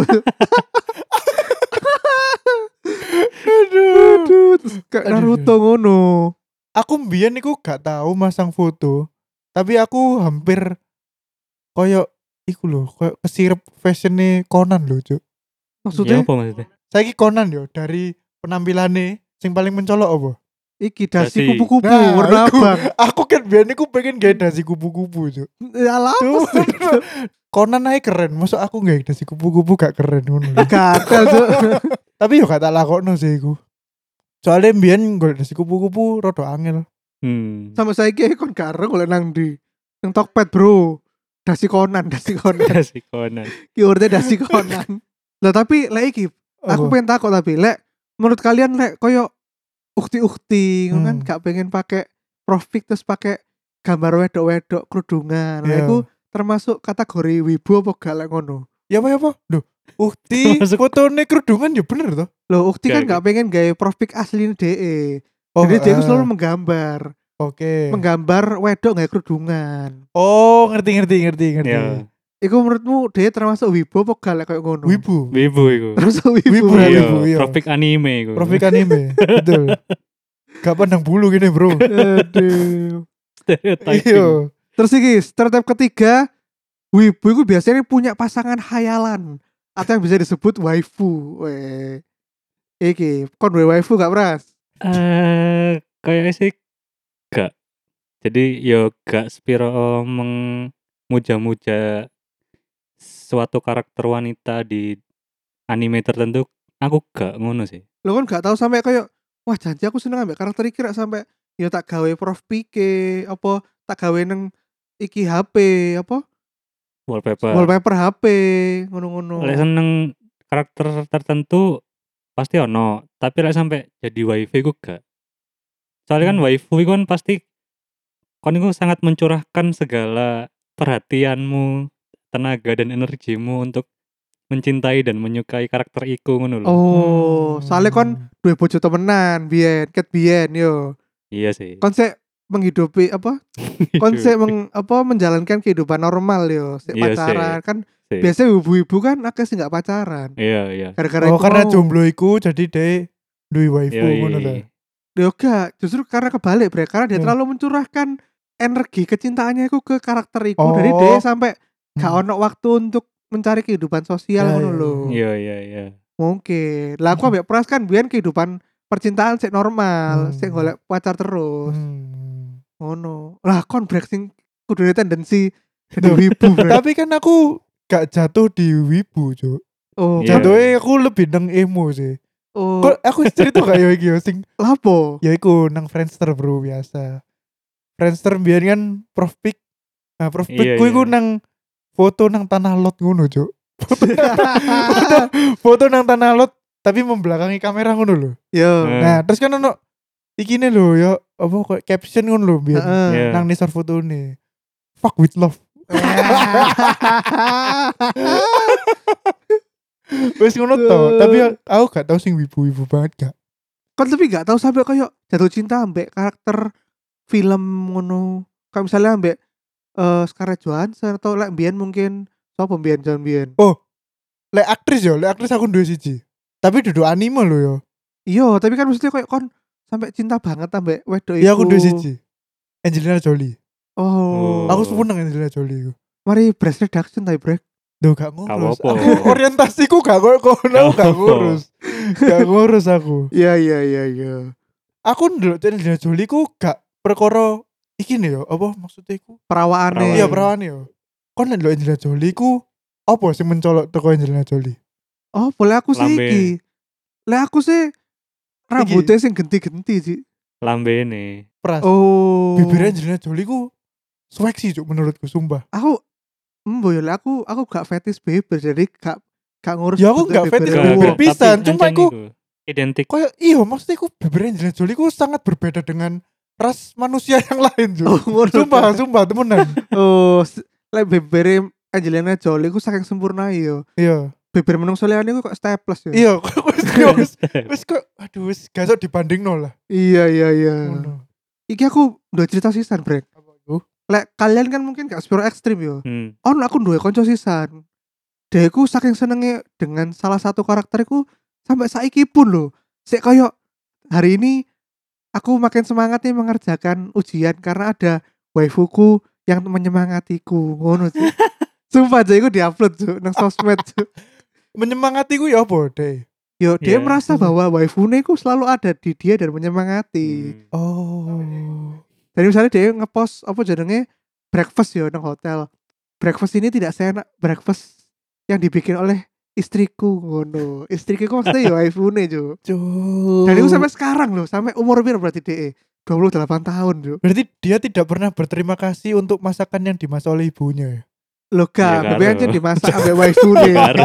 Speaker 3: Aduh.
Speaker 2: Aduh, terus kayak
Speaker 3: Aduh.
Speaker 2: Naruto ngono.
Speaker 3: Aku mbiyen iku gak tahu masang foto, tapi aku hampir koyo iku lho koyo kesirep fashionnya Conan lho Cuk.
Speaker 4: Ya
Speaker 2: Maksudnya
Speaker 4: apa maksudnya?
Speaker 3: Saiki Conan yo dari penampilannya sing paling mencolok apa?
Speaker 2: iki dasi
Speaker 4: Dasi.
Speaker 2: kupu-kupu
Speaker 3: Nah,
Speaker 2: warna
Speaker 3: iku.
Speaker 2: abang.
Speaker 3: Aku kan biyen iku pengen gawe dasi kupu-kupu Cuk.
Speaker 2: Ya lah.
Speaker 3: Cuk. Conan ae keren, masuk aku gawe dasi kupu-kupu gak keren ngono lho.
Speaker 2: Gatel Cuk.
Speaker 3: Tapi yo gak tak lakokno sih iku. Soalnya mbiyen golek dasi kupu-kupu rada angel.
Speaker 4: Hmm.
Speaker 2: Sama saiki kon gareng golek nang ndi? Nang Tokped, Bro. Dasi Conan, dasi Conan.
Speaker 4: Dasi Conan.
Speaker 2: Keywordnya dasi Conan. Lah tapi lek iki aku
Speaker 3: Apa?
Speaker 2: pengen takut tapi lek menurut kalian lek koyo ukti-ukti ngono kan
Speaker 3: Hmm.
Speaker 2: gak pengen pakai profik terus pakai gambar wedok-wedok kerudungan. Lah
Speaker 3: Iya.
Speaker 2: iku termasuk kategori wibu apa gak lek ngono?
Speaker 3: Ya apa ya apa? Duh, ukti
Speaker 4: Masuk-
Speaker 3: fotone kerudungan ya bener toh.
Speaker 2: Loh, ukti kan
Speaker 4: Oke,
Speaker 2: gak pengen gawe profik asli D E.
Speaker 3: Oh,
Speaker 2: Jadi dia iku
Speaker 3: ah,
Speaker 2: selalu menggambar,
Speaker 3: Oke.
Speaker 2: menggambar wedok gawe kerudungan.
Speaker 3: Oh, ngerti ngerti ngerti ngerti.
Speaker 4: Ya,
Speaker 2: Iku menurutmu dia termasuk wibu apa gak lek koyo ngono?
Speaker 3: Wibu.
Speaker 4: wibu iku.
Speaker 2: Termasuk wibu.
Speaker 3: Wibu,
Speaker 2: berarti.
Speaker 4: Iya,
Speaker 3: wibu, iya.
Speaker 4: profik anime iku.
Speaker 3: Profik anime. Betul. Gak pandang bulu gini, Bro.
Speaker 2: Aduh.
Speaker 4: Stereotyping.
Speaker 3: Iya.
Speaker 2: Terus iki stereotip ketiga, wibu itu biasanya punya pasangan hayalan atau yang bisa disebut waifu. Weh. Iki, kon duwe waifu gak, Pras?
Speaker 4: Eh, kayak sih gak. Jadi yo gak spiro memuja-muja suatu karakter wanita di anime tertentu. Aku gak ngono sih.
Speaker 2: Lo kan gak tahu sampai kayak wah janji aku seneng ambek karakter iki rak sampai ya tak gawe prof pike apa tak gawe neng iki H P apa
Speaker 4: Wallpaper.
Speaker 2: wallpaper H P ngono-ngono.
Speaker 4: Lek seneng karakter tertentu pasti ono, tapi lek sampai jadi waifu iku gak. Soalnya kan
Speaker 3: Hmm.
Speaker 4: waifu iku kan pasti kon iku sangat mencurahkan segala perhatianmu, tenaga dan energimu untuk mencintai dan menyukai karakter iku ngono lho.
Speaker 2: Oh, soalnya kon
Speaker 3: Hmm.
Speaker 2: duwe bojo temenan, biyen, ket biyen yo.
Speaker 4: Iya sih.
Speaker 2: Kon sik menghidupi apa? Kon sik meng, apa menjalankan kehidupan normal yo, sik
Speaker 4: Iya
Speaker 2: pacaran kan
Speaker 4: Sih.
Speaker 2: biasanya ibu-ibu kan akeh sing gak pacaran.
Speaker 4: Iya, iya.
Speaker 2: Gara-gara
Speaker 3: Oh,
Speaker 2: iku
Speaker 3: karena
Speaker 2: mau.
Speaker 3: jomblo iku jadi deh duwe waifu
Speaker 4: Iya,
Speaker 3: ngono
Speaker 4: iya.
Speaker 3: ta.
Speaker 2: Yo gak, justru karena kebalik bre, karena dia
Speaker 3: Hmm.
Speaker 2: terlalu mencurahkan energi kecintaannya iku ke karakter iku.
Speaker 3: Oh.
Speaker 2: Jadi dia sampai gak
Speaker 3: Hmm.
Speaker 2: ono waktu untuk mencari kehidupan sosial
Speaker 3: Ya,
Speaker 2: ngono
Speaker 3: ya,
Speaker 2: lho.
Speaker 4: Iya, iya, iya.
Speaker 2: Mungkin. Lah aku ambek Pras kan biyen kehidupan percintaan sik normal,
Speaker 3: Hmm.
Speaker 2: sik golek pacar terus.
Speaker 3: Hmm.
Speaker 2: Ngono. Lah kon brek sing kudune tendensi jadi
Speaker 3: Duh,
Speaker 2: wibu brek.
Speaker 3: Tapi kan aku gak jatuh di wibu, Cuk.
Speaker 2: Oh,
Speaker 4: Iya.
Speaker 3: Jatuhnya aku lebih nang emo sih.
Speaker 2: oh,
Speaker 3: Kok aku cerita gak ya iki yo sing
Speaker 2: lapo?
Speaker 3: ya iku nang Friendster bro biasa. Friendster biar kan Prof Pic. Nah, Prof Pic
Speaker 4: Iya,
Speaker 3: ku iku
Speaker 4: iya.
Speaker 3: nang foto nang tanah lot ngono, Cuk. Foto, foto, foto nang tanah lot tapi membelakangi kamera ngono lho.
Speaker 2: Yo.
Speaker 4: Eh.
Speaker 3: Nah, terus kan ono ikine lho ya apa kok caption ngono lho biar
Speaker 2: Heeh.
Speaker 4: Iya.
Speaker 3: nang nisor fotone. Fuck with love. Wes ngono to, tapi aku gak tau sing wibu-wibu banget gak.
Speaker 2: Kan tapi gak tahu sampai kayak jatuh cinta ambek karakter film ngono. Kayak misalnya ambek eh Scarlett Johansson atau lek mbiyen mungkin sapa mbiyen jan mbiyen.
Speaker 3: Lek aktris yo, lek aktris aku duwe siji. Tapi duduk anime lho yo.
Speaker 2: Iya, tapi kan maksudnya kayak kon sampai cinta banget ambek wedok iku.
Speaker 3: Iya aku duwe siji. Angelina Jolie.
Speaker 2: Oh.
Speaker 3: Aku seneng Angelina Jolie iku.
Speaker 2: Mari breast reduction tapi brek.
Speaker 3: Duh gak ngurus.
Speaker 4: apa-apa.
Speaker 3: Aku orientasiku gak koyo kono,
Speaker 4: Gak
Speaker 3: gak
Speaker 4: apa-apa.
Speaker 3: ngurus. Gak ngurus aku.
Speaker 2: Iya iya iya iya.
Speaker 3: Aku ndelok Angelina Jolie ku gak perkara iki nih yo, apa maksudnya iku?
Speaker 2: Perawaane.
Speaker 3: Iya perawan yo. Kon ndelok Angelina Jolie ku apa sih mencolok teko Angelina Jolie?
Speaker 2: Oh, boleh aku sih
Speaker 4: Lambe.
Speaker 2: iki. Lek aku sih rambutnya sing genti-genti sih.
Speaker 4: Lambe nih.
Speaker 3: Pras.
Speaker 2: Oh.
Speaker 3: Bibir Angelina Jolie ku swag sih cuk menurutku sumpah.
Speaker 2: Aku embo ya lek aku aku gak fetis bibir jadi gak gak ngurus.
Speaker 3: Ya, aku
Speaker 2: bentuk
Speaker 3: gak fetis
Speaker 2: bibir
Speaker 3: Gak,
Speaker 2: aku.
Speaker 3: bibir pisan,
Speaker 4: tapi
Speaker 3: cuma
Speaker 4: ancen
Speaker 3: iku-
Speaker 4: iku identik.
Speaker 3: Kayak iya maksudnya ku bibir Angelina Jolie ku sangat berbeda dengan ras manusia yang lain cuk.
Speaker 2: Oh, ngono.
Speaker 3: Sumpah, sumpah temenan.
Speaker 2: Oh, s- lek bibir Angelina Jolie ku saking sempurna yo.
Speaker 3: Iya.
Speaker 2: Bibir menungso liyane ku kok staples yo.
Speaker 3: Iya, wis wis wis kok aduh wis gak iso dibandingno lah.
Speaker 2: Iya iya iya.
Speaker 3: Ngono.
Speaker 2: Iki aku udah cerita sisan, Brek.
Speaker 3: Apa iku?
Speaker 2: Lek kalian kan mungkin gak spiro ekstrim yo.
Speaker 4: Hmm.
Speaker 2: Ono aku duwe kanca sisan. Dia iku saking senenge dengan salah satu karakteriku sampai saiki pun loh. Sik koyo hari ini aku makin semangat nih mengerjakan ujian karena ada waifuku yang menyemangatiku. Ngono sih. Sumpah aja iku diupload Cuk nang sosmed Cuk.
Speaker 3: Menyemangati ku ya apa deh?
Speaker 2: Yo dia
Speaker 4: Iya.
Speaker 2: merasa bahwa waifune ku selalu ada di dia dan menyemangati.
Speaker 4: Hmm.
Speaker 3: Oh.
Speaker 2: Jadi misalnya dia ngepost apa jenenge breakfast yo nang hotel. Breakfast ini tidak seenak breakfast yang dibikin oleh istriku ngono. Istriku kok maksudnya yo waifune Cuk.
Speaker 3: Cuk.
Speaker 2: Dan itu sampai sekarang loh, sampai umur piro berarti D E? dua puluh delapan tahun Cuk.
Speaker 3: Berarti dia tidak pernah berterima kasih untuk masakan yang dimasak oleh ibunya ya?
Speaker 2: Loh
Speaker 4: Ya,
Speaker 2: gak,
Speaker 4: karo.
Speaker 2: B B aja dimasak sampai waifune.
Speaker 4: Karo.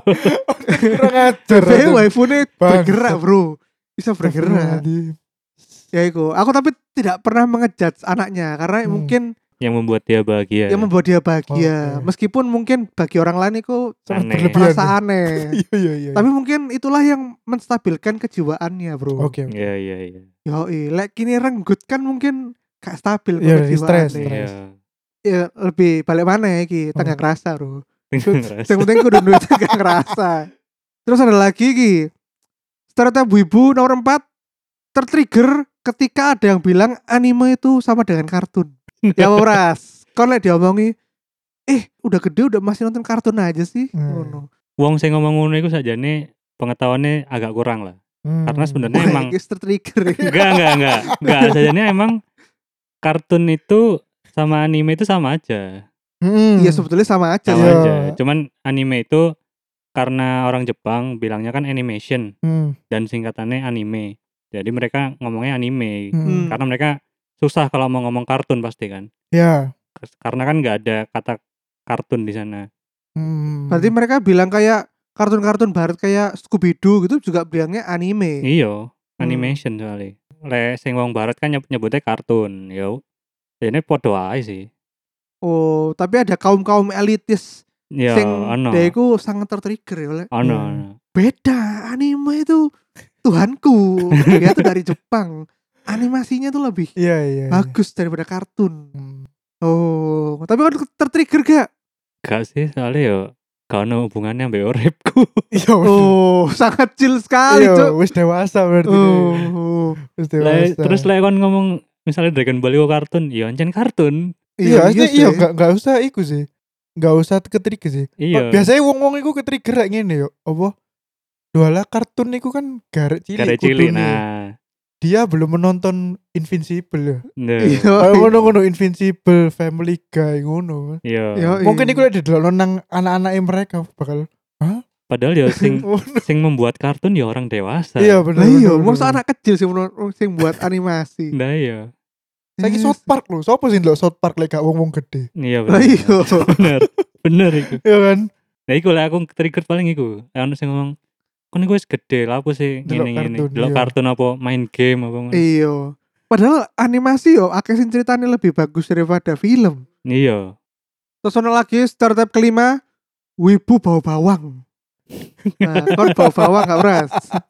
Speaker 3: Kurang ajar.
Speaker 2: B B waifune
Speaker 3: Bangsat.
Speaker 2: bergerak bro. Bisa bergerak. Ya iku, aku tapi tidak pernah mengejudge anaknya karena
Speaker 3: Hmm.
Speaker 2: mungkin
Speaker 4: Yang membuat dia bahagia.
Speaker 2: yang membuat dia bahagia.
Speaker 3: Oke.
Speaker 2: Meskipun mungkin bagi orang lain itu
Speaker 3: Sangat
Speaker 4: Aneh.
Speaker 3: berlebihan.
Speaker 2: merasa
Speaker 3: ya.
Speaker 2: aneh.
Speaker 3: Iya iya iya.
Speaker 2: Tapi mungkin itulah yang menstabilkan kejiwaannya, bro.
Speaker 3: Oke. oke.
Speaker 4: Iya iya iya.
Speaker 2: Yoi, lek kini renggut kan mungkin gak stabil kok
Speaker 3: Iya, dari stres,
Speaker 2: kejiwaannya.
Speaker 3: stres.
Speaker 4: Iya.
Speaker 2: Ya lebih balik mana ya iki,
Speaker 3: Oh.
Speaker 2: tengah ngerasa, bro.
Speaker 4: Ngerasa.
Speaker 2: Yang penting kudu duit tengah ngerasa. Terus ada lagi iki. Stereotip ibu nomor empat tertrigger ketika ada yang bilang anime itu sama dengan kartun. Ya Ras, kon lek diomongi eh udah gede udah masih nonton kartun aja sih.
Speaker 3: Hmm.
Speaker 2: Ngono.
Speaker 4: Wong sing ngomong ngono iku sajane pengetahuannya agak kurang lah.
Speaker 3: Hmm.
Speaker 4: Karena sebenarnya
Speaker 2: Wah,
Speaker 4: emang
Speaker 2: iki tertrigger. ya.
Speaker 4: enggak enggak enggak enggak sajane emang kartun itu sama anime itu sama aja.
Speaker 3: Hmm.
Speaker 2: Iya sebetulnya sama aja.
Speaker 4: Sama
Speaker 3: Iya.
Speaker 4: aja. Cuman anime itu karena orang Jepang bilangnya kan animation
Speaker 3: Hmm.
Speaker 4: dan singkatannya anime. Jadi mereka ngomongnya anime
Speaker 3: Hmm.
Speaker 4: karena mereka susah kalau mau ngomong kartun pasti kan.
Speaker 3: Ya.
Speaker 4: Karena kan nggak ada kata kartun di sana.
Speaker 3: Hmm.
Speaker 2: Berarti mereka bilang kayak kartun-kartun barat kayak Scooby Doo gitu juga bilangnya anime.
Speaker 4: Iya,
Speaker 2: Hmm.
Speaker 4: animation soalnya. Le sing wong barat kan nyebut nyebutnya kartun. Yo. Ini podo ae sih.
Speaker 2: Oh, tapi ada kaum-kaum elitis
Speaker 4: Ya,
Speaker 2: sing
Speaker 4: ono.
Speaker 2: dia itu sangat tertrigger ya oleh
Speaker 4: Ono.
Speaker 3: Hmm.
Speaker 4: ono.
Speaker 2: beda anime itu Tuhanku. Dia tuh dari Jepang. Animasinya tuh lebih
Speaker 3: Iya iya. iya.
Speaker 2: bagus daripada kartun.
Speaker 3: Hmm.
Speaker 2: Oh, tapi kan tertrigger gak?
Speaker 4: Gak sih soalnya yo gak ono hubungannya ambek uripku.
Speaker 3: Iya. bener.
Speaker 2: Oh, sangat chill sekali,
Speaker 3: Iya,
Speaker 2: Cuk.
Speaker 3: wis dewasa berarti.
Speaker 2: Oh,
Speaker 3: Wis
Speaker 4: Le,
Speaker 3: dewasa.
Speaker 4: terus lek kon ngomong misalnya Dragon Ball iku kartun, ya ancen kartun.
Speaker 3: Iya, iya, iya,
Speaker 2: sih.
Speaker 3: enggak enggak usah iku sih. Enggak usah ketrigger sih.
Speaker 4: Iya.
Speaker 3: Biasanya wong-wong iku ketrigger kayak ngene yo. Apa? Dua kartun iku kan garek cilik.
Speaker 4: Karek cilik
Speaker 3: kudune.
Speaker 4: nah.
Speaker 3: Dia belum menonton Invincible ya.
Speaker 4: Nah.
Speaker 2: Iya.
Speaker 3: Kayak ngono-ngono Invincible, Family Guy ngono.
Speaker 4: Iya.
Speaker 2: Iya.
Speaker 3: Mungkin iku lek didelokno nang anak-anake mereka bakal
Speaker 4: Padahal ya sing
Speaker 3: ngono.
Speaker 4: sing membuat kartun ya orang dewasa.
Speaker 3: Iya bener.
Speaker 2: Lah iya,
Speaker 3: bener,
Speaker 2: masa
Speaker 3: bener.
Speaker 2: anak kecil sih menurut sing buat animasi.
Speaker 4: Nah iya.
Speaker 3: Saiki
Speaker 2: Yes.
Speaker 3: South Park lho. Sopo sih ndelok South Park lek gak wong-wong gede.
Speaker 4: Iya
Speaker 2: Lah
Speaker 4: bener.
Speaker 2: iya.
Speaker 4: Bener. Bener iku.
Speaker 3: Iya kan?
Speaker 4: Nah iku lah aku trigger paling iku. Ono sing ngomong kon iku wis gede lah apa sih
Speaker 3: Delok
Speaker 4: ngene-ngene.
Speaker 3: kartun,
Speaker 4: Delok
Speaker 3: iya.
Speaker 4: kartun apa main game apa ngono.
Speaker 2: Iya. Padahal animasi yo akeh sing ceritanya lebih bagus daripada film.
Speaker 4: Iya.
Speaker 2: Terus ono lagi stereotip kelima, wibu bau bawang. Nah, kon bau bawang gak Bras?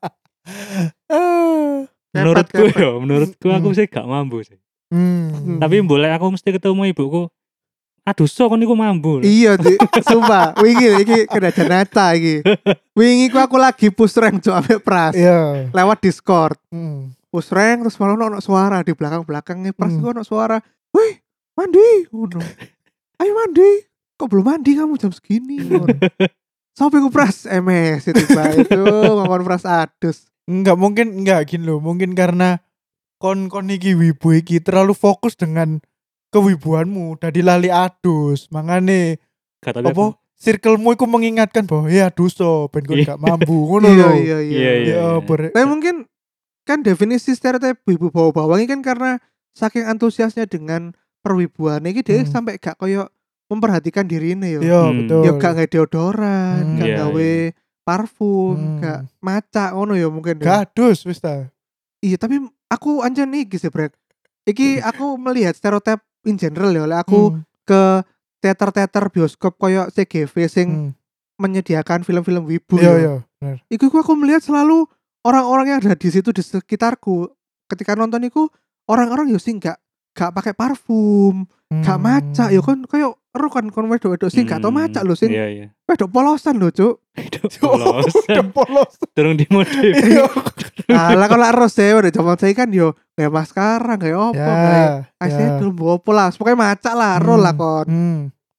Speaker 3: Ah.
Speaker 4: Menurutku
Speaker 2: Kepet, kepet.
Speaker 4: ya, menurutku aku
Speaker 3: Hmm.
Speaker 4: sih gak mampu sih.
Speaker 3: Hmm.
Speaker 4: Tapi boleh aku mesti ketemu ibuku. Aduh so kon iku mampu. lho.
Speaker 2: Iya, Dik. Sumpah, wingi iki kena janata iki. Wingi ku aku lagi push rank cuk ambek Pras.
Speaker 3: Iya.
Speaker 2: Lewat Discord.
Speaker 3: Hmm.
Speaker 2: Push rank terus malah ono suara di belakang-belakangnya Pras
Speaker 3: Hmm.
Speaker 2: itu ono suara. "Woi, mandi." Ngono. "Ayo mandi." "Kok belum mandi kamu jam segini?" Ngono. Sampai ku Pras M S itu Pak. Itu ngomong Pras adus.
Speaker 3: Enggak mungkin enggak gini loh. Mungkin karena kon-kon iki wibu iki terlalu fokus dengan kewibuanmu dari lali adus. Makane
Speaker 4: Gak tahu
Speaker 3: apa circlemu iku mengingatkan bahwa ya aduso ben kon
Speaker 4: Iya.
Speaker 3: gak mampu ngono
Speaker 2: Iya,
Speaker 3: lho.
Speaker 2: iya, iya.
Speaker 4: Iya, iya.
Speaker 3: Ya ber-
Speaker 2: Tapi mungkin kan definisi stereotip wibu bau bawang ini kan karena saking antusiasnya dengan perwibuan ini dia
Speaker 3: Hmm.
Speaker 2: sampai gak koyo memperhatikan dirinya yo.
Speaker 3: Iya
Speaker 4: Hmm.
Speaker 3: betul.
Speaker 2: Ya gak nge deodoran,
Speaker 3: Hmm.
Speaker 2: gak
Speaker 4: Iya,
Speaker 2: gawe parfum,
Speaker 3: Hmm.
Speaker 2: gak maca ngono ya mungkin. ya.
Speaker 3: Gak adus wis ta.
Speaker 2: Iya, tapi aku anjen iki sih, Brek. Iki aku melihat stereotip in general ya, oleh aku
Speaker 3: Hmm.
Speaker 2: ke teater-teater bioskop koyo C G V sing
Speaker 3: Hmm.
Speaker 2: menyediakan film-film wibu
Speaker 3: Iya
Speaker 2: ya.
Speaker 3: iya bener.
Speaker 2: Iku iku aku melihat selalu orang-orang yang ada di situ di sekitarku ketika nonton iku orang-orang yo sing gak gak pakai parfum, gak
Speaker 3: Hmm.
Speaker 2: maca yo kan kayak ero kan kon wedok-wedok sing gak tau maca lho sing
Speaker 4: Iya iya.
Speaker 2: wedok polosan lho, Cuk.
Speaker 3: Udah
Speaker 4: Polosan.
Speaker 3: polos.
Speaker 4: Turun di mode.
Speaker 3: Iya.
Speaker 2: Alah kalau ros ya udah zaman saya kan yo kayak maskara kayak opo kayak
Speaker 3: Ya.
Speaker 2: eyeshadow mbok opo lah pokoknya maca lah ro lah kon.
Speaker 3: Hmm.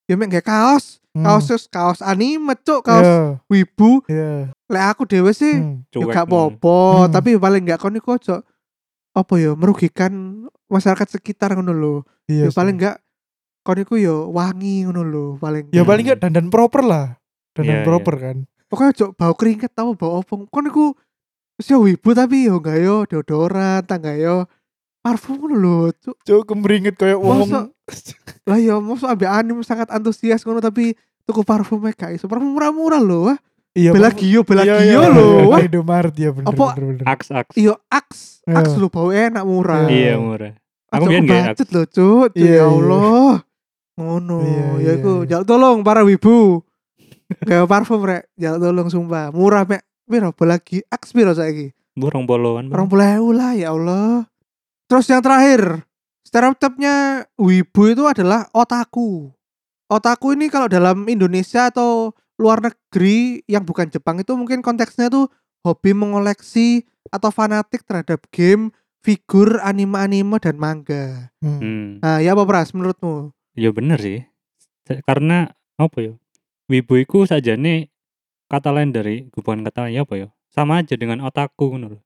Speaker 2: ya mek nggae kaos,
Speaker 3: Hmm.
Speaker 2: kaos kaos anime cuk, kaos
Speaker 3: Iya,
Speaker 2: wibu.
Speaker 3: iya.
Speaker 2: Lek aku dhewe sih
Speaker 3: Hmm.
Speaker 2: ya
Speaker 4: Cuek
Speaker 2: gak
Speaker 4: ngono.
Speaker 2: apa-apa,
Speaker 3: Hmm.
Speaker 2: tapi paling gak kon iku aja apa ya merugikan masyarakat sekitar ngono lho.
Speaker 3: Iya
Speaker 2: Ya paling
Speaker 3: sih.
Speaker 2: gak kon iku ya wangi ngono lho paling.
Speaker 3: Ya
Speaker 4: Hmm.
Speaker 3: paling gak dandan proper lah. Dandan
Speaker 4: Iya,
Speaker 3: proper kan.
Speaker 2: Pokoknya ojo bau keringet tau bau opong. Kon iku wis ya wibu tapi yo gak yo deodoran, tangga yo parfum ngono lho, cuk.
Speaker 3: Cuk kemringet kayak wong.
Speaker 2: Masa- Lah ya mosok ambek anime sangat antusias ngono tapi tuku parfumnya gak iso. Parfum murah-murah lho, wah.
Speaker 3: Iya.
Speaker 2: Belagio,
Speaker 3: Iya,
Speaker 2: Belagio
Speaker 3: iya,
Speaker 2: lho,
Speaker 3: iya,
Speaker 2: wah.
Speaker 3: Indomaret ya bener
Speaker 2: Apa-
Speaker 3: bener bener.
Speaker 4: Aks aks.
Speaker 2: Iya, Axe,
Speaker 3: Iya.
Speaker 2: Axe lho bau enak murah.
Speaker 3: Iya.
Speaker 4: Iya murah. Aku
Speaker 2: Aku
Speaker 4: biyen nggak
Speaker 2: budget lho, cuk. Cuk,
Speaker 3: Iya,
Speaker 2: ya
Speaker 3: iya.
Speaker 2: Allah. Ngono,
Speaker 3: Iya,
Speaker 2: ya
Speaker 3: iya,
Speaker 2: iku
Speaker 3: iya.
Speaker 2: jaluk tolong para wibu. Gawe parfum rek, jaluk tolong sumpah. Murah mek piro Belagio, Axe piro saiki?
Speaker 4: Burung poloan.
Speaker 2: Orang puluh lah ya Allah. Terus yang terakhir, stereotipnya wibu itu adalah otaku. Otaku ini kalau dalam Indonesia atau luar negeri yang bukan Jepang itu mungkin konteksnya tuh hobi mengoleksi atau fanatik terhadap game, figur, anime-anime dan manga.
Speaker 3: Hmm.
Speaker 4: Hmm.
Speaker 2: Nah, ya apa Pras menurutmu?
Speaker 4: Ya bener sih. Se- Karena apa ya? Wibu iku sajane kata lain dari bukan kata lain ya apa ya? Sama aja dengan otaku ngono lho.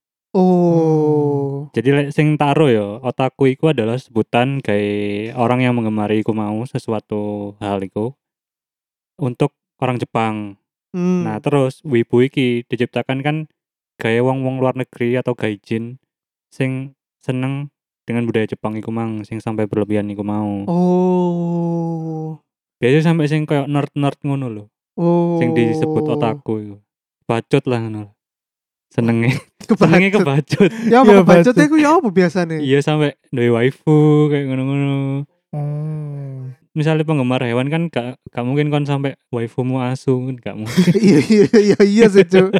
Speaker 2: Oh.
Speaker 4: Jadi lek sing taro ya, otaku iku adalah sebutan kayak orang yang menggemari iku mau sesuatu hal iku untuk orang Jepang.
Speaker 2: Hmm.
Speaker 4: Nah, terus wibu iki diciptakan kan gaya wong-wong luar negeri atau gaijin sing seneng dengan budaya Jepang iku mang sing sampai berlebihan iku mau.
Speaker 2: Oh.
Speaker 4: Biasanya sampai sing kayak nerd-nerd ngono lho.
Speaker 2: Oh.
Speaker 4: Sing disebut otaku iku. Bacot lah ngono. Senenge senenge
Speaker 2: Kebacut.
Speaker 4: kebacut.
Speaker 2: Ya
Speaker 3: Iya,
Speaker 2: apa kebacut
Speaker 3: bacot.
Speaker 2: iku ya apa biasanya?
Speaker 4: Iya sampai duwe waifu kayak ngono-ngono.
Speaker 3: Hmm.
Speaker 4: Misalnya penggemar hewan kan gak, gak mungkin kon sampai waifumu asu kan gak mungkin.
Speaker 2: Iya iya iya iya sih, Cuk.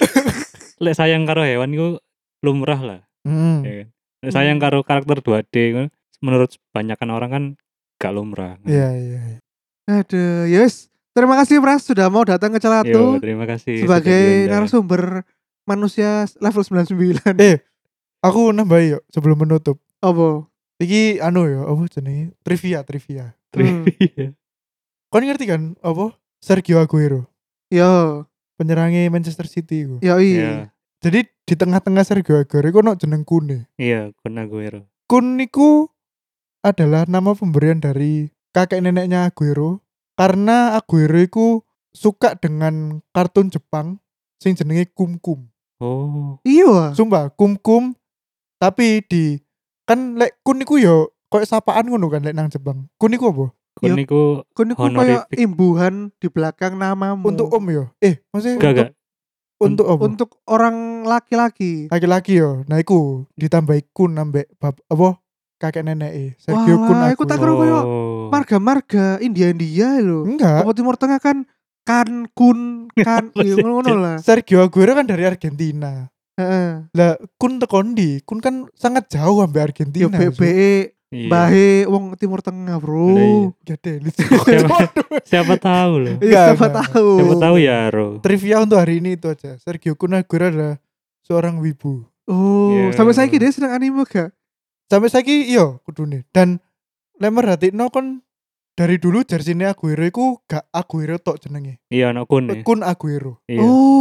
Speaker 4: Lek sayang karo hewan iku lumrah lah,
Speaker 3: Hmm.
Speaker 4: ya kan. Lek sayang
Speaker 2: Hmm.
Speaker 4: karo karakter dua D kan, menurut kebanyakan orang kan gak lumrah.
Speaker 3: Iya iya. iya.
Speaker 2: Aduh, yes. Terima kasih Pras sudah mau datang ke
Speaker 4: Yo,
Speaker 2: Celatu
Speaker 4: terima kasih
Speaker 2: sebagai
Speaker 4: sudah diundang.
Speaker 2: narasumber manusia level sembilan puluh sembilan.
Speaker 3: Eh, aku nambahin yuk sebelum menutup.
Speaker 2: Apa?
Speaker 3: Iki anu ya, apa jenenge? Trivia, trivia.
Speaker 4: Trivia.
Speaker 3: Kau ngerti kan apa? Sergio Aguero,
Speaker 2: Yo,
Speaker 3: penyerangnya Manchester City iku.
Speaker 2: yo
Speaker 4: Iya,
Speaker 2: iya.
Speaker 3: Jadi di tengah-tengah Sergio Aguero iku ono jeneng Kune.
Speaker 4: iya, Kun Aguero.
Speaker 3: Kun niku adalah nama pemberian dari kakek neneknya Aguero karena Aguero iku suka dengan kartun Jepang sing jenenge Kum Kum.
Speaker 4: Oh,
Speaker 2: Iya.
Speaker 3: Sumpah, Kum Kum tapi di kan lek kun niku yo koyo sapaan ngono kan lek nang Jepang. Kun niku apa?
Speaker 4: Kun
Speaker 2: Yo.
Speaker 4: niku
Speaker 2: Kun iku kayak
Speaker 4: Honorific.
Speaker 2: imbuhan di belakang namamu.
Speaker 3: Untuk om yo. Eh, maksudnya
Speaker 4: gak gak.
Speaker 3: untuk apa?
Speaker 2: Untuk orang laki-laki.
Speaker 3: Laki-laki yo. Nah iku ditambahi kun ambek bab apa kakek nenek Sergio Kun
Speaker 2: Wah, iku tak
Speaker 3: Aguero.
Speaker 2: kira kayak
Speaker 4: Oh.
Speaker 2: marga-marga India-India lho.
Speaker 3: Enggak.
Speaker 2: Apa Timur Tengah kan kan kun kan
Speaker 4: Apa
Speaker 2: iya,
Speaker 4: sih,
Speaker 2: ngono
Speaker 4: Cuk?
Speaker 2: lah.
Speaker 3: Sergio Aguero kan dari Argentina.
Speaker 2: Heeh.
Speaker 3: Lah kun tekondi, kun kan sangat jauh ambek
Speaker 2: Yo
Speaker 3: Argentina.
Speaker 2: B B E
Speaker 4: Iya.
Speaker 2: bahe wong Timur Tengah,
Speaker 4: Lah,
Speaker 2: Bro.
Speaker 4: iya.
Speaker 3: Gede.
Speaker 4: Siapa, siapa tahu loh.
Speaker 2: Iya,
Speaker 3: Enggak,
Speaker 2: siapa
Speaker 3: enggak.
Speaker 2: tahu.
Speaker 4: Siapa tahu ya, Ro.
Speaker 3: Trivia untuk hari ini itu aja. Sergio Kun Aguero adalah seorang wibu.
Speaker 2: Oh,
Speaker 4: Iya.
Speaker 2: sampai saiki dia seneng anime gak?
Speaker 3: Sampai saiki iya kudune. Dan lemar hati no kon dari dulu jersey-ne Aguero iku gak Aguero tok jenenge.
Speaker 4: Iya, anak Kun ya.
Speaker 3: Kun Aguero.
Speaker 4: Iya.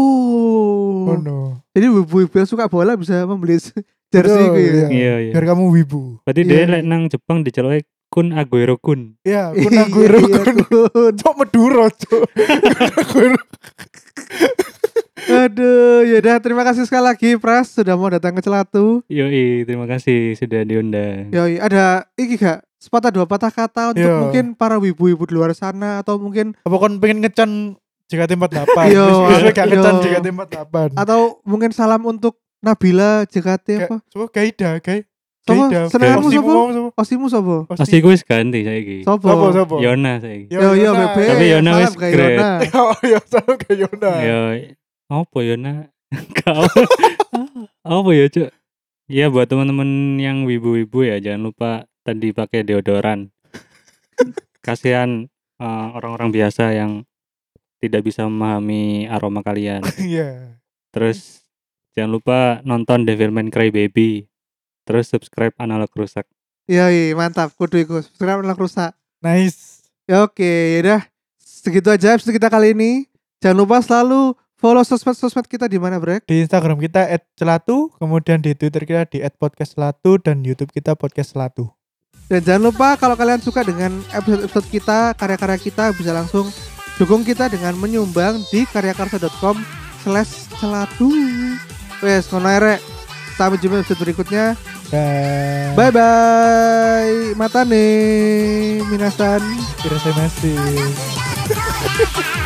Speaker 2: Oh.
Speaker 3: Oh no.
Speaker 2: Jadi ibu-ibu yang suka bola bisa membeli jersey
Speaker 3: Betul,
Speaker 2: itu ya.
Speaker 3: iya.
Speaker 4: Iya, iya.
Speaker 3: Biar kamu wibu.
Speaker 4: Berarti
Speaker 2: Iya,
Speaker 4: dia
Speaker 2: iya.
Speaker 4: lek nang Jepang diceluki Kun Aguero Kun.
Speaker 3: Iya, Kun Aguero.
Speaker 2: Iya,
Speaker 3: Kun.
Speaker 2: Kun.
Speaker 3: Cok Maduro, cok. Kun Aguero.
Speaker 2: Aduh, ya udah terima kasih sekali lagi Pras sudah mau datang ke Celatu.
Speaker 4: Yoi, terima kasih sudah diundang.
Speaker 2: Yoi, ada iki gak sepatah dua patah kata untuk
Speaker 3: Iya.
Speaker 2: mungkin para wibu-wibu di luar sana atau mungkin
Speaker 3: Apa kon pengen ngecan J K T empat puluh delapan?
Speaker 2: Iya,
Speaker 3: Terus besok gak ngecan
Speaker 2: iya.
Speaker 3: J K T empat puluh delapan.
Speaker 2: atau mungkin salam untuk Nabila J K T apa?
Speaker 3: Coba Gaida, Gai.
Speaker 2: Sopo?
Speaker 3: Gaida.
Speaker 2: Senenganmu
Speaker 3: Osimu
Speaker 2: sopo?
Speaker 3: mau sopo?
Speaker 2: Osimu sopo?
Speaker 3: Osi.
Speaker 4: Pasti gue ganti saiki.
Speaker 2: Sopo?
Speaker 3: Sopo, sopo?
Speaker 4: Yona saiki.
Speaker 3: Yo,
Speaker 2: Yo yo
Speaker 3: Yona.
Speaker 2: Bebe.
Speaker 4: Tapi Yona
Speaker 2: salam
Speaker 4: wis
Speaker 2: ke
Speaker 4: great.
Speaker 2: Yona.
Speaker 3: Oh, ya salam ke Yona.
Speaker 4: Ya, apa Yona? Kau. Apa ya, Cuk? Ya buat teman-teman yang wibu-wibu ya jangan lupa tadi pakai deodoran. Kasihan eh, orang-orang biasa yang tidak bisa memahami aroma kalian.
Speaker 3: Iya.
Speaker 4: Terus jangan lupa nonton Devilman Crybaby. Terus subscribe Analog Rusak.
Speaker 2: Iya, iya, mantap. Kudu iku. Sekarang ulang rusak.
Speaker 3: Nice.
Speaker 2: Ya oke, yaudah. Segitu aja episode kita kali ini. Jangan lupa selalu follow sosmed-sosmed kita di mana, Brek?
Speaker 3: Di Instagram kita et celatu, kemudian di Twitter kita di et podcast celatu, dan YouTube kita podcast celatu.
Speaker 2: Dan jangan lupa kalau kalian suka dengan episode-episode kita, karya-karya kita, bisa langsung dukung kita dengan menyumbang di karyakarsa.com slash celatu. Wes, ngono ae, Rek. Sampai jumpa episode berikutnya.
Speaker 3: Dan
Speaker 2: Bye bye. Matane minasan.
Speaker 3: terima kasih.